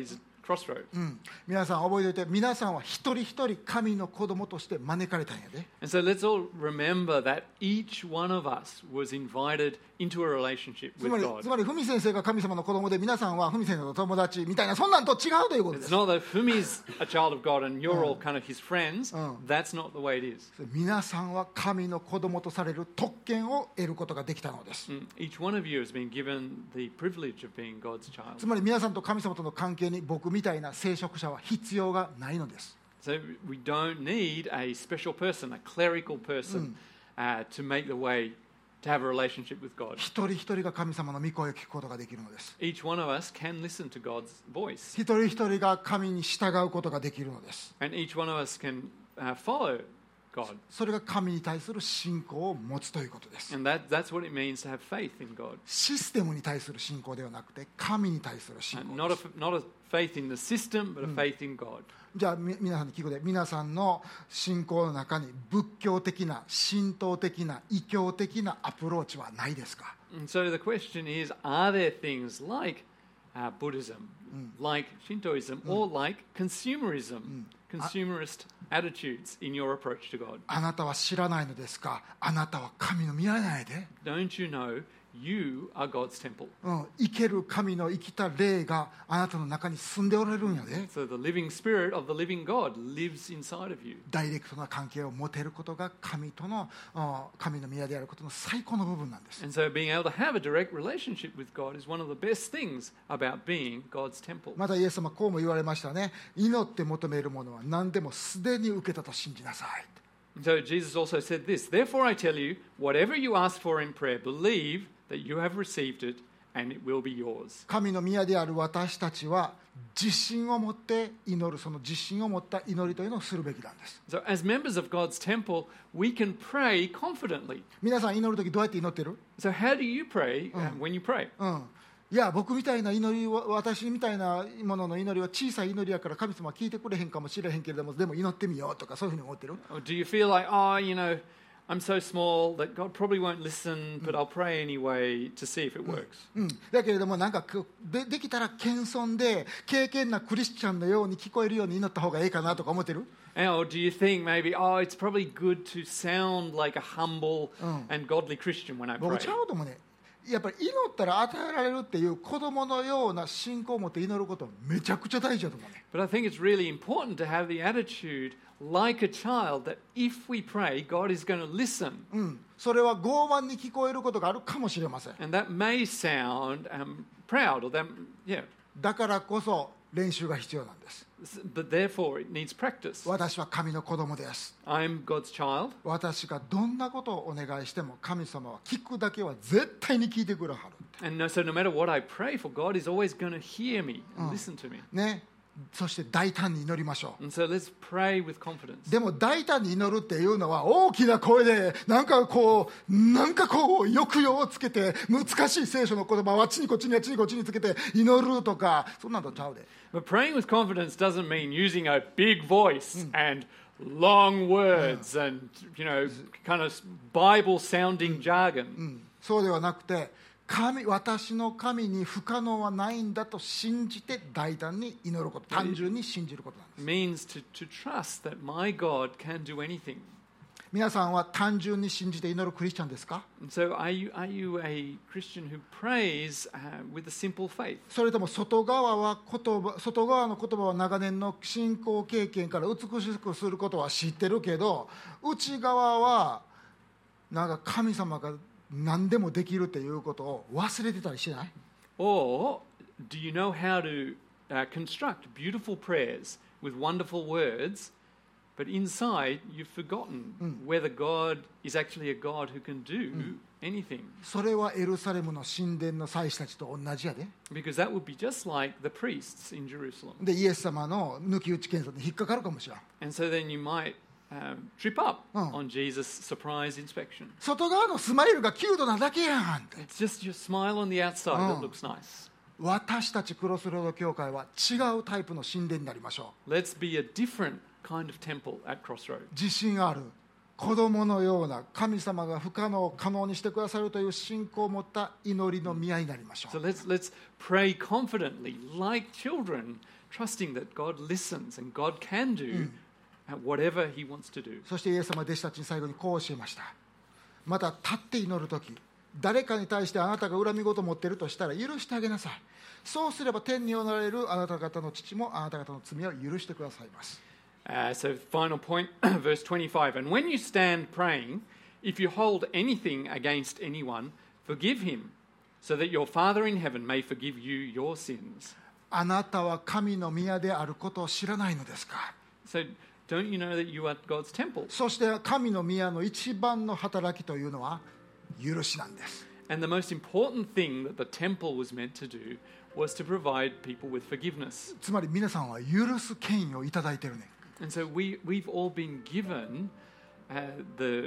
Crossroads. 皆さん覚えておいて、皆さんは一人一人神の子供として招かれたんやで。 And so let's all remember that each one of us was invited into a relationship つ with まり God. ふみ先生が神様の子供で、皆さんはふみ先生の友達みたいな、そんなんと違うということで It's す。 not that Fumi's a child of God and you're all kind of his friends. That's not the way it is. 皆さんは神の子供とされる特権を得ることができたのです。 Each one of you has been given the privilege of being God's child. つまり皆さんと神様との関係に僕みたいな聖職者は必要がないのです。 So we don't need a special person, a clerical person, to make the way to have a relationship with God. 一人一人が神様の御声を聞くことができるのです。 Each one of us can listen to God's voice, 一人一人が神に従うことができるのです。 and each one of us can follow God. それが神に対する信仰を持つということです。 And that's what it means to have faith in God. システムに対する信仰ではなくて、神に対する信仰です。 Not a faith in the system, but a faith in God. じゃあ皆さんに聞くで、皆さんの信仰の中に仏教的な、神道的な、異教的なアプローチはないですか？ And so the question is, are there things like Buddhism, like Shintoism, or like consumerism, consumerist attitudes in your approach to God? あなたは知らないのですか？あなたは神の見られないで。 Don't you know you are God's temple? 生ける神の生きた霊があなたの中に住んでおられるんやで。 So the living spirit of the living God lives inside of you. ダイレクトな関係を持てることが神との神の宮であることの最高の部分なんです。 And so being able to have a direct relationship with God is one of the best things about being God's temple. またイエス様こうも言われましたね。祈って求めるものは何でもすでに受けたと信じなさい。 So Jesus also said this, therefore I tell you, whatever you ask for in prayer, believe that you have received it and it will be yours. 神の宮である私たちは自信を持って祈る、その自信を持った祈りというのをするべきなんです。 So as members of God's temple, we can pray confidently. 皆さん祈るときどうやって祈ってる？ So how do you pray when you pray? いや僕みたいな祈りは、私みたいなものの祈りは小さい祈りやから神様は聞いてくれへんかもしれへんけれども、でも祈ってみようとか、そういうふうに思ってる？ Or do you feel like, oh, you know, I'm so small that God probably won't listen, but I'll pray anyway to see if it works. だけれどもなんかできたら謙遜で敬虔なクリスチャンのように聞こえるように祈った方がいいかなとか思ってる？ Or do you think maybe, oh, it's probably good to sound like a humble and godly Christian when I 僕 pray? ちゃうと思うね。やっぱり祈ったら与えられるっていう子供のような信仰を持って祈ることめちゃくちゃ大事だと思うね。 But I think it's really important to have the attitude like a child that if we pray, God is going to listen. それは傲慢に聞こえることがあるかもしれません。 And that may sound proud, or that, yeah. だからこそ練習が必要なんです。 But therefore, it needs practice. 私は神の子供です。 I'm God's child. 私がどんなことをお願いしても神様は聞くだけは絶対に聞いてくれはる。 And so no matter what I pray for, God is always going to hear me and listen to me. ね。そして大胆に祈りましょう。 And so let's pray with confidence. でも大胆に祈るっていうのは大きな声でなんかこう抑揚をつけて難しい聖書の言葉をあっちにこっちにあっちにこっちにつけて祈るとか、そんなのちゃうで。 But praying with confidence doesn't mean using a big voice and long words and, you know, kind of Bible-sounding jargon. そうではなくて、私の神に不可能はないんだと信じて大胆に祈ること、単純に信じることなんです。 It means to trust that my God can do anything. 皆さんは単純に信じて祈るクリスチャンですか？ And so are you a Christian who prays with a simple faith? それとも外側の言葉は長年の信仰経験から美しくすることは知ってるけど、内側はなんか神様が何でもできるっていうことを忘れてたりしない？ Or do you know how to construct beautiful prayers with wonderful words, but inside you've forgotten whether God is actually a God who can do anything? それはエルサレムの神殿の祭司たちと同じやで。 Because that would be just like the priests in Jerusalem. でイエス様の抜き打ち検査に引っかかるかもしれん。 And so then you might trip up on Jesus' surprise inspection. 外側のスマイルがキュートなだけやんって。 It's just your smile on the outside that looks nice. 私たちクロスロード教会は違うタイプの神殿になりましょう。 Let's be a different kind of temple at Crossroad. 自信ある、 子供のような神様が不可能を可能にしてくださるという信仰を持った祈りの宮になりましょう。 So let's pray confidently, like children, trusting that God listens and God can do whatever He wants to do. そしてイエス様は弟子たちに最後にこう教えました。また立って祈るとき、誰かに対してあなたが恨み事を持っているとしたら許してあげなさい。そうすれば天におられるあなた方の父もあなた方の罪を許してくださいます。 So final point, verse 25. And when you stand praying, if you hold anything against anyone, forgive him, so that your Father in heaven may forgive you your sins. あなたは神の宮であることを知らないのですか。 So don't you know that you are God's temple? そして神の宮の一番の働きというのは許しなんです。 And the most important thing that the temple was meant to do was to provide people with forgiveness. つまり皆さんは許す権威をいただいているね。 And so we've all been given the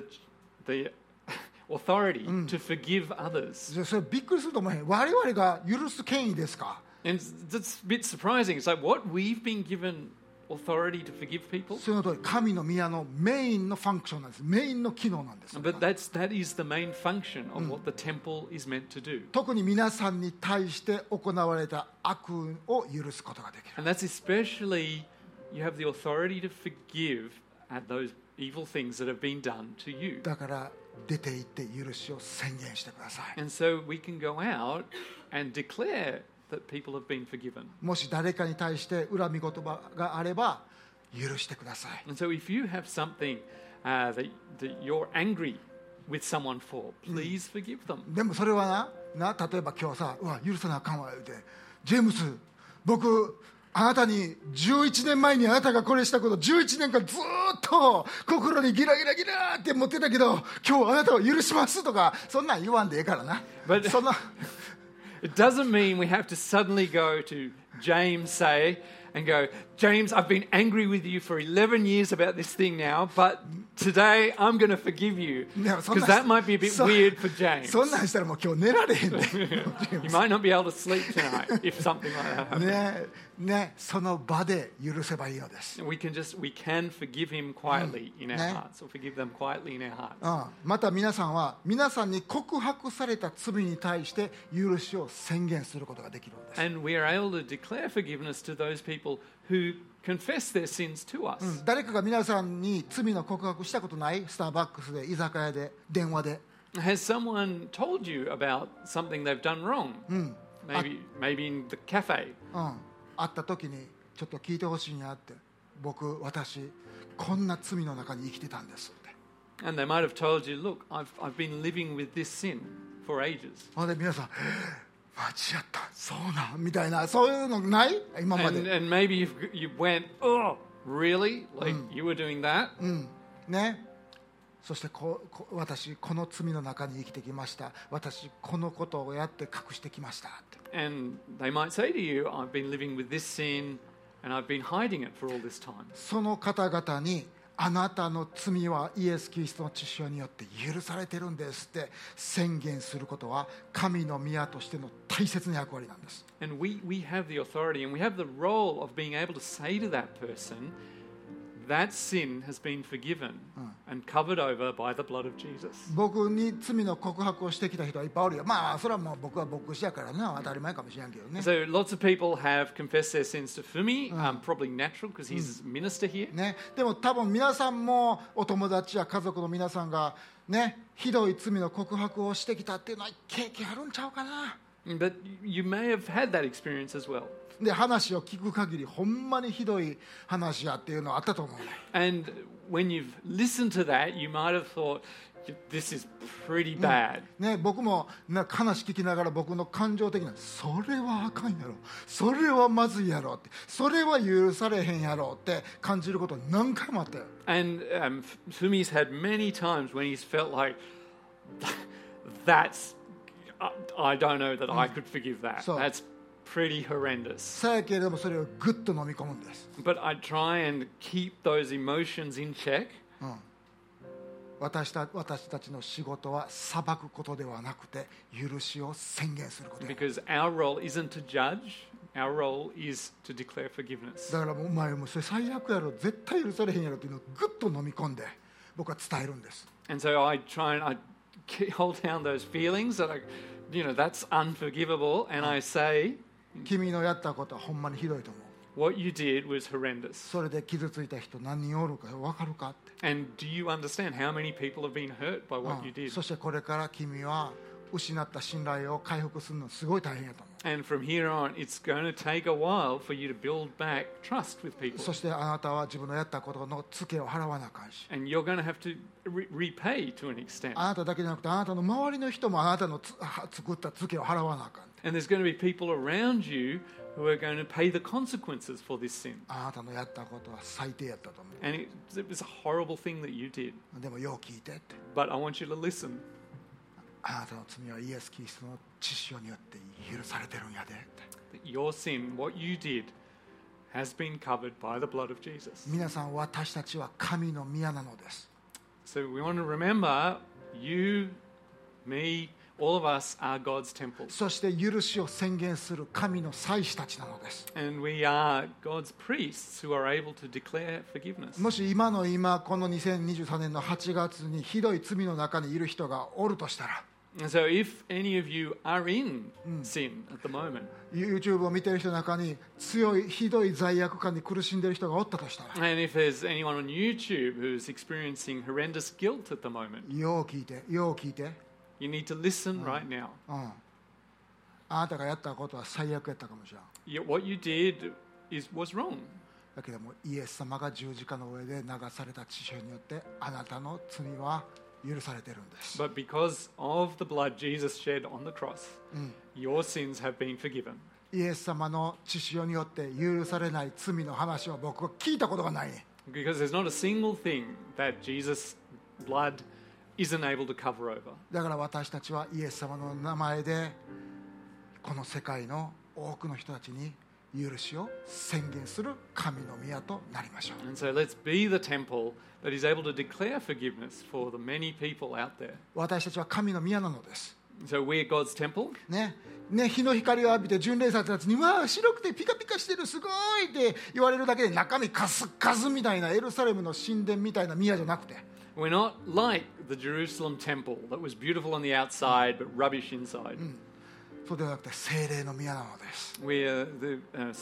authority to forgive others. それびっくりすると思う。我々が許す権威ですか。 And that's a bit surprising. It's like, what? We've been given authority to forgive people? その通り神の宮のメインのファンクションなんです。メインの機能なんです。 But that is the main function of what the temple is meant to do. 特に皆さんに対して行われた悪を許すことができる。 And that's especially, you have the authority to forgive at those evil things that have been done to you. だから出て行って許しを宣言してください。 And so we can go out and declare that people have been forgiven. もし誰かに対して恨み言葉があれば許してください。 And so if you have something that you're angry with someone for, please forgive them. でもそれは例えば今日さ、許さなあかんわ言うて、ジェームス、僕あなたに11年前にあなたがこれしたこと11年間ずっと心にギラギラギラって持ってたけど、今日あなたを許しますとか、そんなん言わんでええからな。 But そんな it doesn't mean we have to suddenly go to James, say, and go, James, I've been angry with you for 11 years about this thing now, but today I'm going to forgive you. Because that might be a bit weird for James. そんなんしたらもう今日寝られへんで。 You might not be able to sleep tonight if something like that happens. ね、その場で許せばいいのです。 We can forgive him quietly in our hearts, or forgive them quietly in our hearts. また皆さんは皆さんに告白された罪に対して許しを宣言することができるんです。 And we are able to declare forgiveness to those people who confess their sins to us. 誰かが皆さんに罪の告白したことない？スターバックスで、居酒屋で、電話で。 Has someone told you about something they've done wrong? Maybe in the cafe. 会った時にちょっと聞いてほしいんやって、私こんな罪の中に生きてたんですって。 And they might have told you, look, I've been living with this sin for ages. で皆さん間違った、そうなんみたいな、そういうのない今まで。 And maybe you went, oh, really? Like you were doing that? ね。そして私この罪の中に生きてきました。私このことをやって隠してきましたって。 And they might say to you, I've been living with this sin and I've been hiding it for all this time. その方々にあなたの罪はイエス・キリストの血潮によって許されてるんですって宣言することは神の宮としての大切な役割なんです。 And we have the authority and we have the role of being able to say to that person, that sin has been forgiven and covered over by the blood of Jesus. 僕に罪の告白をしてきた人はいっぱいおるよ。まあそれはもう僕は牧師やからな、当たり前かもしれんけどね。 So lots of people have confessed their sins to Fumi, probably natural because he's a minister here. ね、でも多分皆さんもお友達や家族の皆さんがね、ひどい罪の告白をしてきたっていうのは経験あるんちゃうかな。 But you may have had that experience as well. で話を聞く限りほんまにひどい話やっていうのはあったと思うね。 And when you've listened to that, you might have thought, this is pretty bad. ね、僕も話聞きながら僕の感情的なそれはあかんやろ、それはまずいやろって、それは許されへんやろって感じること何回もあったよ。 And Fumi's had many times when he's felt like, I don't know that I could forgive that. So- That's pretty horrendous. さやけれどもそれをグッと飲み込むんです。 But I try and keep those emotions in check. 私たちの仕事は裁くことではなくて許しを宣言することや。 Because our role isn't to judge, our role is to declare forgiveness. だからもうお前もそれ最悪やろ、絶対許されへんやろっていうのをグッと飲み込んで、 僕は伝えるんです。 And so I try and I hold down those feelings that that's unforgivable, and I say, 君のやったことはほんまにひどいと思う。 what you did was horrendous. それで傷ついた人何人おるか分かるかって。 And do you understand how many people have been hurt by what you did? そしてこれから君は失った信頼を回復するのすごい大変やと思う。 And from here on, it's going to take a while for you to build back trust with people. そしてあなたは自分のやったことのツケを払わなあかんし、 And you're going to have to repay to an extent. あなただけじゃなくてあなたの周りの人もあなたの作ったツケを払わなあかん。 And there's going to be people around you who are going to pay the consequences for this sin. あなたのやったことは最低やったと思 And it was a horrible thing that you did. う。でもよう聞いてって。 But I want you to listen. あなたの罪はイエス・キリストの血潮によって許されてるんやでって。 That your sin, what you did, has been covered by the blood of Jesus. 皆さん、私たちは神の宮なのです。 So we want to remember you, me, all of us are God's temple. そして許しを宣言する神の祭司たちなのです。 And we are God's priests who are able to declare forgiveness. もし今この2023年の8月にひどい罪の中にいる人がおるとしたら、 And so if any of you are in sin at the moment, YouTube を見ている人の中にひどい罪悪感に苦しんでいる人がおったとしたら、 and if there's anyone on YouTube who's experiencing horrendous guilt at the moment, よう聞いて、よう聞いて、 you need to listen right now. あなたがやったことは最悪やったかもしれん。 What you did was wrong. だけどもイエス様が十字架の上で流された血潮によってあなたの罪は許されているんです。 But because of the blood Jesus shed on the cross, your sins have been forgiven. イエス様の血潮によって許されない罪の話は僕は聞いたことがないね。 Because there's not a single thing that Jesus' blood isn't able to cover over. だから私たちはイエス様の名前でこの世界の多くの人たちに許しを宣言する神の宮となりましょう。 And so let's be the temple that is able to declare forgiveness for the many people out there. 私たちは神の宮なのです。 So we're God's temple. ね、日の光を浴びて巡礼者たちにわあ白くてピカピカしてるすごいって言われるだけで中身カスカスみたいなエルサレムの神殿みたいな宮じゃなくて、 We're not like the Jerusalem temple that was beautiful on the outside but rubbish inside. そうではなくて聖霊の宮なのです。 We're the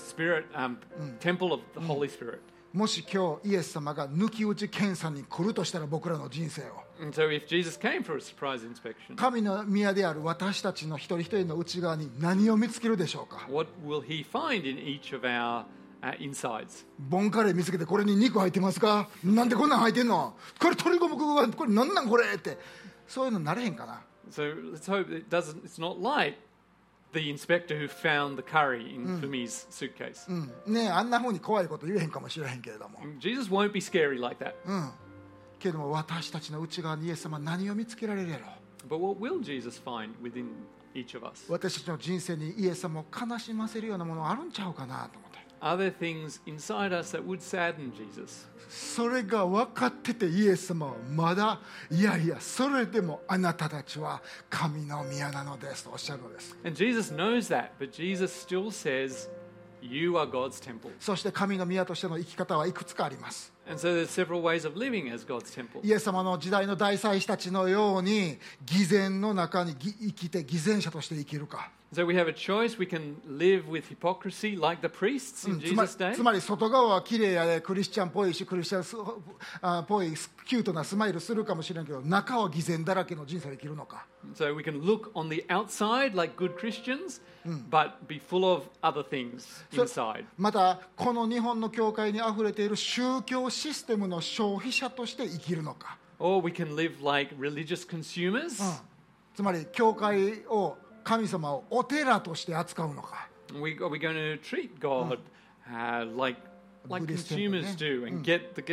temple of the Holy Spirit. もし今日イエス様が抜き打ち検査に来るとしたら僕らの人生を、 And so if Jesus came for a surprise inspection, 神の宮である私たちの一人一人の内側に何を見つけるでしょうか。 what will he find in each of our insides? ボンカレー見つけてこれに肉入ってますか、なんでこんなん入ってんの、これ鶏ゴムこれなんなんこれって、そういうのなれへんかな。 So let's hope it's not like the inspector who found the curry in Fumi's suitcase. ねえ、あんな風に怖いこと言えへんかもしれへんけれども、 Jesus won't be scary like that. けれども私たちの内側にイエス様は何を見つけられるやろう。 But what will Jesus find within each of us? 私たちの人生にイエス様を悲しませるようなものあるんちゃうかなと思って、 Are there things inside us that would sadden Jesus? それが分かっててイエス様はまだいやいやそれでもあなたたちは神の宮なのですとおっしゃるのです。 And Jesus knows that, but Jesus still says, you are God's temple. そして神の宮としての生き方はいくつかあります。 And so there's several ways of living as God's temple. イエス様の時代の大祭司たちのように偽善の中に生きて偽善者として生きるか、 So we have a choice. We can live with hypocrisy like the priests in つま Jesus' day. つまり外側は綺麗やでクリスチャンっぽいしクリスチャンっぽいキュートなスマイルするかもしれんけど中は偽善だらけの人生を生きるのか、 So we can look on the outside like good Christians, but be full of other things inside. またこの日本の教会にあふれている宗教システムの消費者として生きるのか、 Or we can live like religious consumers. つまり教会を神様をお寺として扱うのか、 Are we going to treat God like Buddhist consumers temple, do and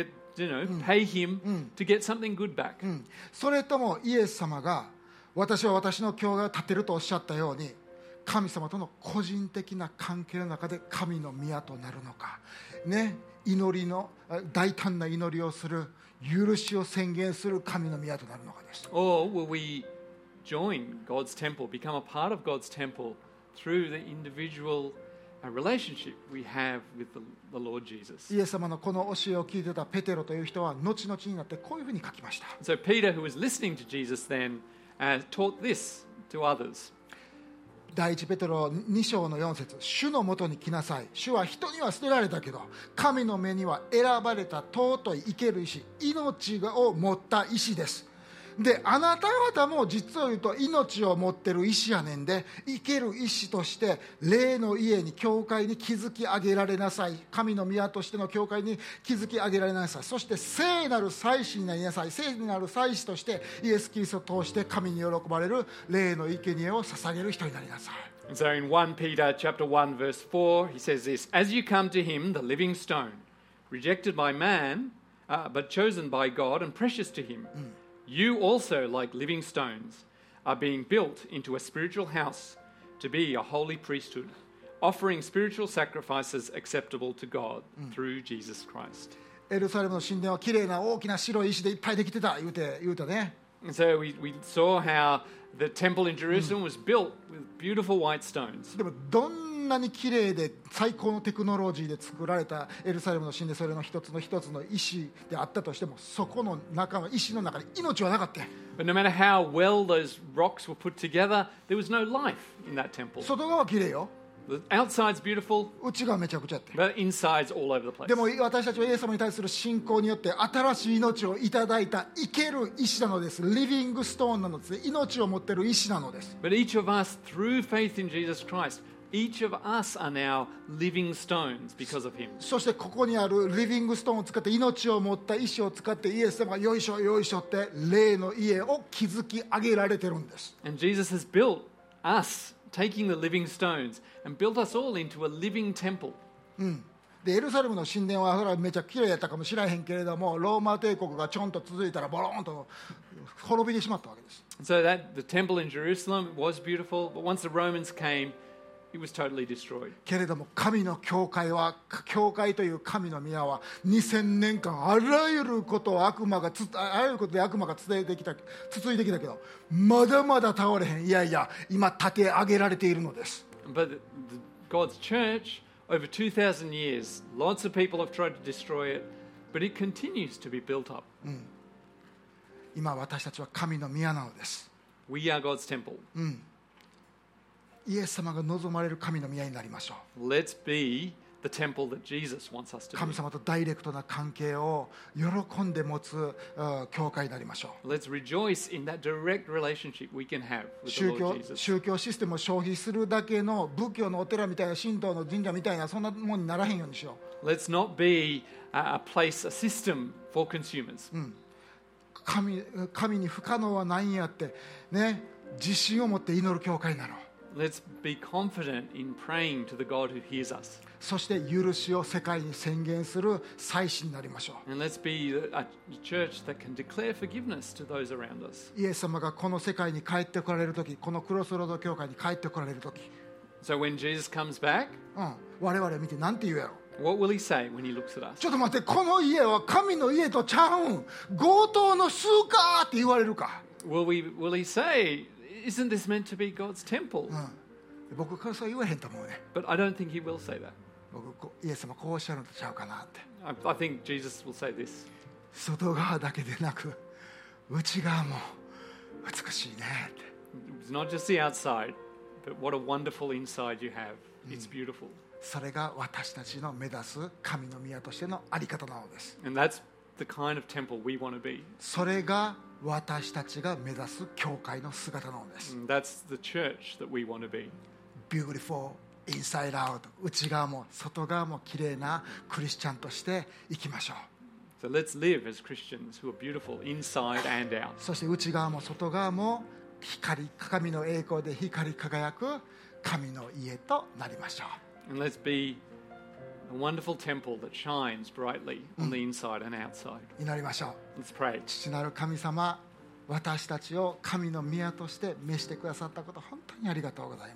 pay Him to get something good back? それともイエス様が私は私の教会を建てるとおっしゃったように神様との個人的な関係の中で神の宮となるのか、ね、祈りの大胆な祈りをする許しを宣言する神の宮となるのかです。 Or will we join God's temple, become a part of God's temple through the individual a relationship we have with the Lord Jesus. イエス様のこの教えを聞いてたペテロという人は後々になってこういうふうに書きました。 So Peter, who was listening to Jesus then, taught this to others. 第一ペテロ2章の4節、主のもとに来なさい。主は人には捨てられたけど、神の目には選ばれた尊い生ける石、命を持った石です。で、あなた方も実を言うと命を持ってる石やねんで、生ける石として霊の家に教会に築き上げられなさい。神の宮としての教会に築き上げられなさい。そして聖なる祭司になりなさい。聖なる祭司としてイエス・キリストを通して神に喜ばれる霊の生贄を捧げる人になりなさい。 So in 1 Peter chapter 1 verse 4, he says this, As you come to him, the living stone, rejected by man, but chosen by God and precious to him, you also, like living stones, are being built into a spiritual house to be a holy priesthood, offering spiritual sacrifices acceptable to God through Jesus Christ. エルサレムの神殿はきれいな大きな白い石でいっぱいできてた言うたね。 And so we saw how the temple in Jerusalem was built with beautiful white stones. でもどんなにきれいで最高のテクノロジーで作られたエルサレムの神殿、それの一つの一つの石であったとしても、そこの中の石の中に命はなかった。 But no matter how well those rocks were put together, there was no life in that temple. 外側はきれいよ、 The outside's beautiful, 内側めちゃくちゃやって。 but inside's all over the place. でも私たちはイエス様に対する信仰によって新しい命をいただいた生ける石なのです。リビングストーンなのです。命を持っている石なのです。 But each of us, through faith in Jesus Christ, each of us are now living stones because of him. そしてここにあるリビングストーンを使って命を持った石を使ってイエス様がよいしょよいしょって霊の家を築き上げられてるんです。 And Jesus has built us, taking the living stones, and built us all into a living temple. でエルサレムの神殿はそれはめちゃきれいやったかもしれへんけれども、ローマ帝国がちょんと続いたらボローンと滅びてしまったわけです。 So that the temple in Jerusalem was beautiful, but once the Romans came, it was totally destroyed. けれども神の教会は、教会という神の宮は2000年間あらゆることをあらゆることで悪魔が続いてきたけど、まだまだ倒れへん。いやいや、今立て上げられているのです。 But God's church, over 2,000 years, lots of people have tried to destroy it, but it continues to be built up. 今私たちは神の宮なのです。 We are God's temple. イエス様が望まれる神の宮になりましょう。 Let's be the temple that Jesus wants us to 神 be. 様とダイレクトな関係を喜んで持つ教会になりましょう。 Let's rejoice in that direct relationship we can have with the Lord Jesus. 宗教システムを消費するだけの仏教のお寺みたいな神道の神社みたいなそんなもんにならへんようにしよう。 Let's not be a place, a system for consumers. 神に不可能はないんやってね、自信を持って祈る教会になろう。 Let's be confident in praying to the God who hears us. そして許しを世界に宣言する祭司になりましょう。 And let's be a church that can declare forgiveness to those around us. イエス様がこの世界に帰ってこられるとき、このクロスロード教会に帰ってこられるとき、 So when Jesus comes back, 我々見て何て言うやろ。 what will he say when he looks at us? ちょっと待って、この家は神の家とちゃうん、強盗の巣かって言われるか。 Will he say, isn't this meant to be God's temple? 僕からそう言わへんと思うね。 But I don't think he will say that. イエス様こうおっしゃるのとちゃうかなって。 I think Jesus will say this. 外側だけでなく内側も美しいねって。 It's not just the outside, but what a wonderful inside you have. It's beautiful. それが私たちの目指す神の宮としてのあり方なのです。 And that's the kind of temple we want to be. それが私たちが目指す教会の姿なのです。 And that's the church that we want to be. Beautiful inside out、 内側も外側も綺麗なクリスチャンとして生きましょう。 So let's live as Christians who are beautiful inside and out. そして内側も外側も神の栄光で光り輝く神の家となりましょう。 And let's be a wonderful temple that shines brightly on the inside and outside. 祈りましょう。 Let's pray. 父なる神様、私たちを神の宮として召してくださったこと、本当にありがとうございます。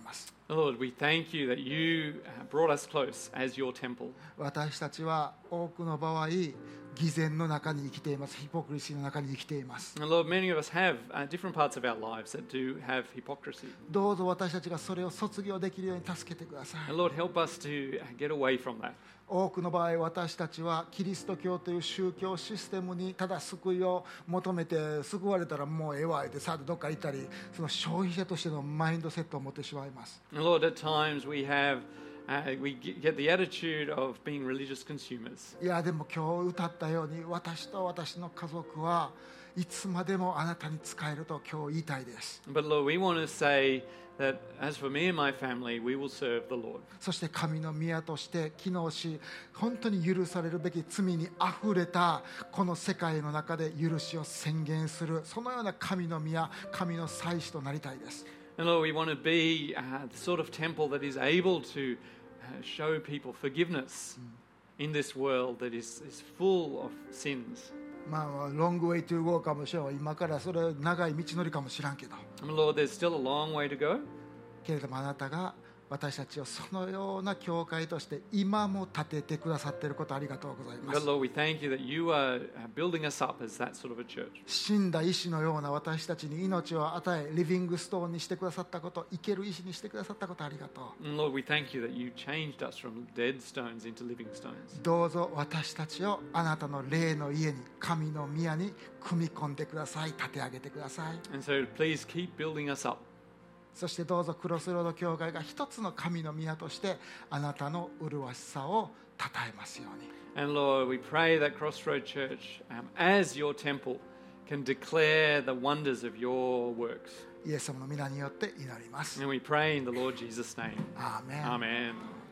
Lord, we thank you that you brought us close as your temple. 私たちは多くの場合偽善の中に生きています。ヒポクリシーの中に生きています。 And Lord, many of us have different parts of our lives that do have hypocrisy. どうぞ私たちがそれを卒業できるように助けてください。 And Lord, help us to get away from that. 多くの場合私たちはキリスト教という宗教システムにただ救いを求めて救われたらもうええわってさあどっか行ったり、その消費者としてのマインドセットを持ってしまいます。 And Lord, at times we get the attitude of being religious consumers. いやでも今日歌ったように私と私の家族はいつまでもあなたに仕えると今日言いたいです。 But Lord, we want to say that as for me and my family, we will serve the Lord. そして神の宮として機能し、本当に許されるべき罪にあふれたこの世界の中で許しを宣言する、そのような神の宮、神の祭司となりたいです。 And Lord, we want to be the sort of temple that is able to show people forgiveness in this world that is full of sins. まあロングウェイトゥーゴーかもしれない。今からそれ長い道のりかもしらんけど。 And Lord, there's still a long way to go. けれどもあなたが私たちをそのような教会として今も立ててくださっていることありがとうございま But す。 Lord, we thank you that you are building us up as that sort of a church. 死んだ石のような私たちに命を与え、リビングストーンにしてくださったこと、生ける石にしてくださったことありがとう。 And Lord, we thank you that you changed us from dead stones into living stones. どうぞ私たちをあなたの霊の家に、神の宮に組み込んでください。立て上げてください。 And so please keep building us up. そしてどうぞクロスロード教会が一つの神の宮としてあなたの麗しさを称えますように。 And Lord, we pray that Crossroad Church, as your temple, can declare the wonders of your works. イエス様の皆によって祈ります。 And we pray in the Lord Jesus' name. アーメン。 Amen.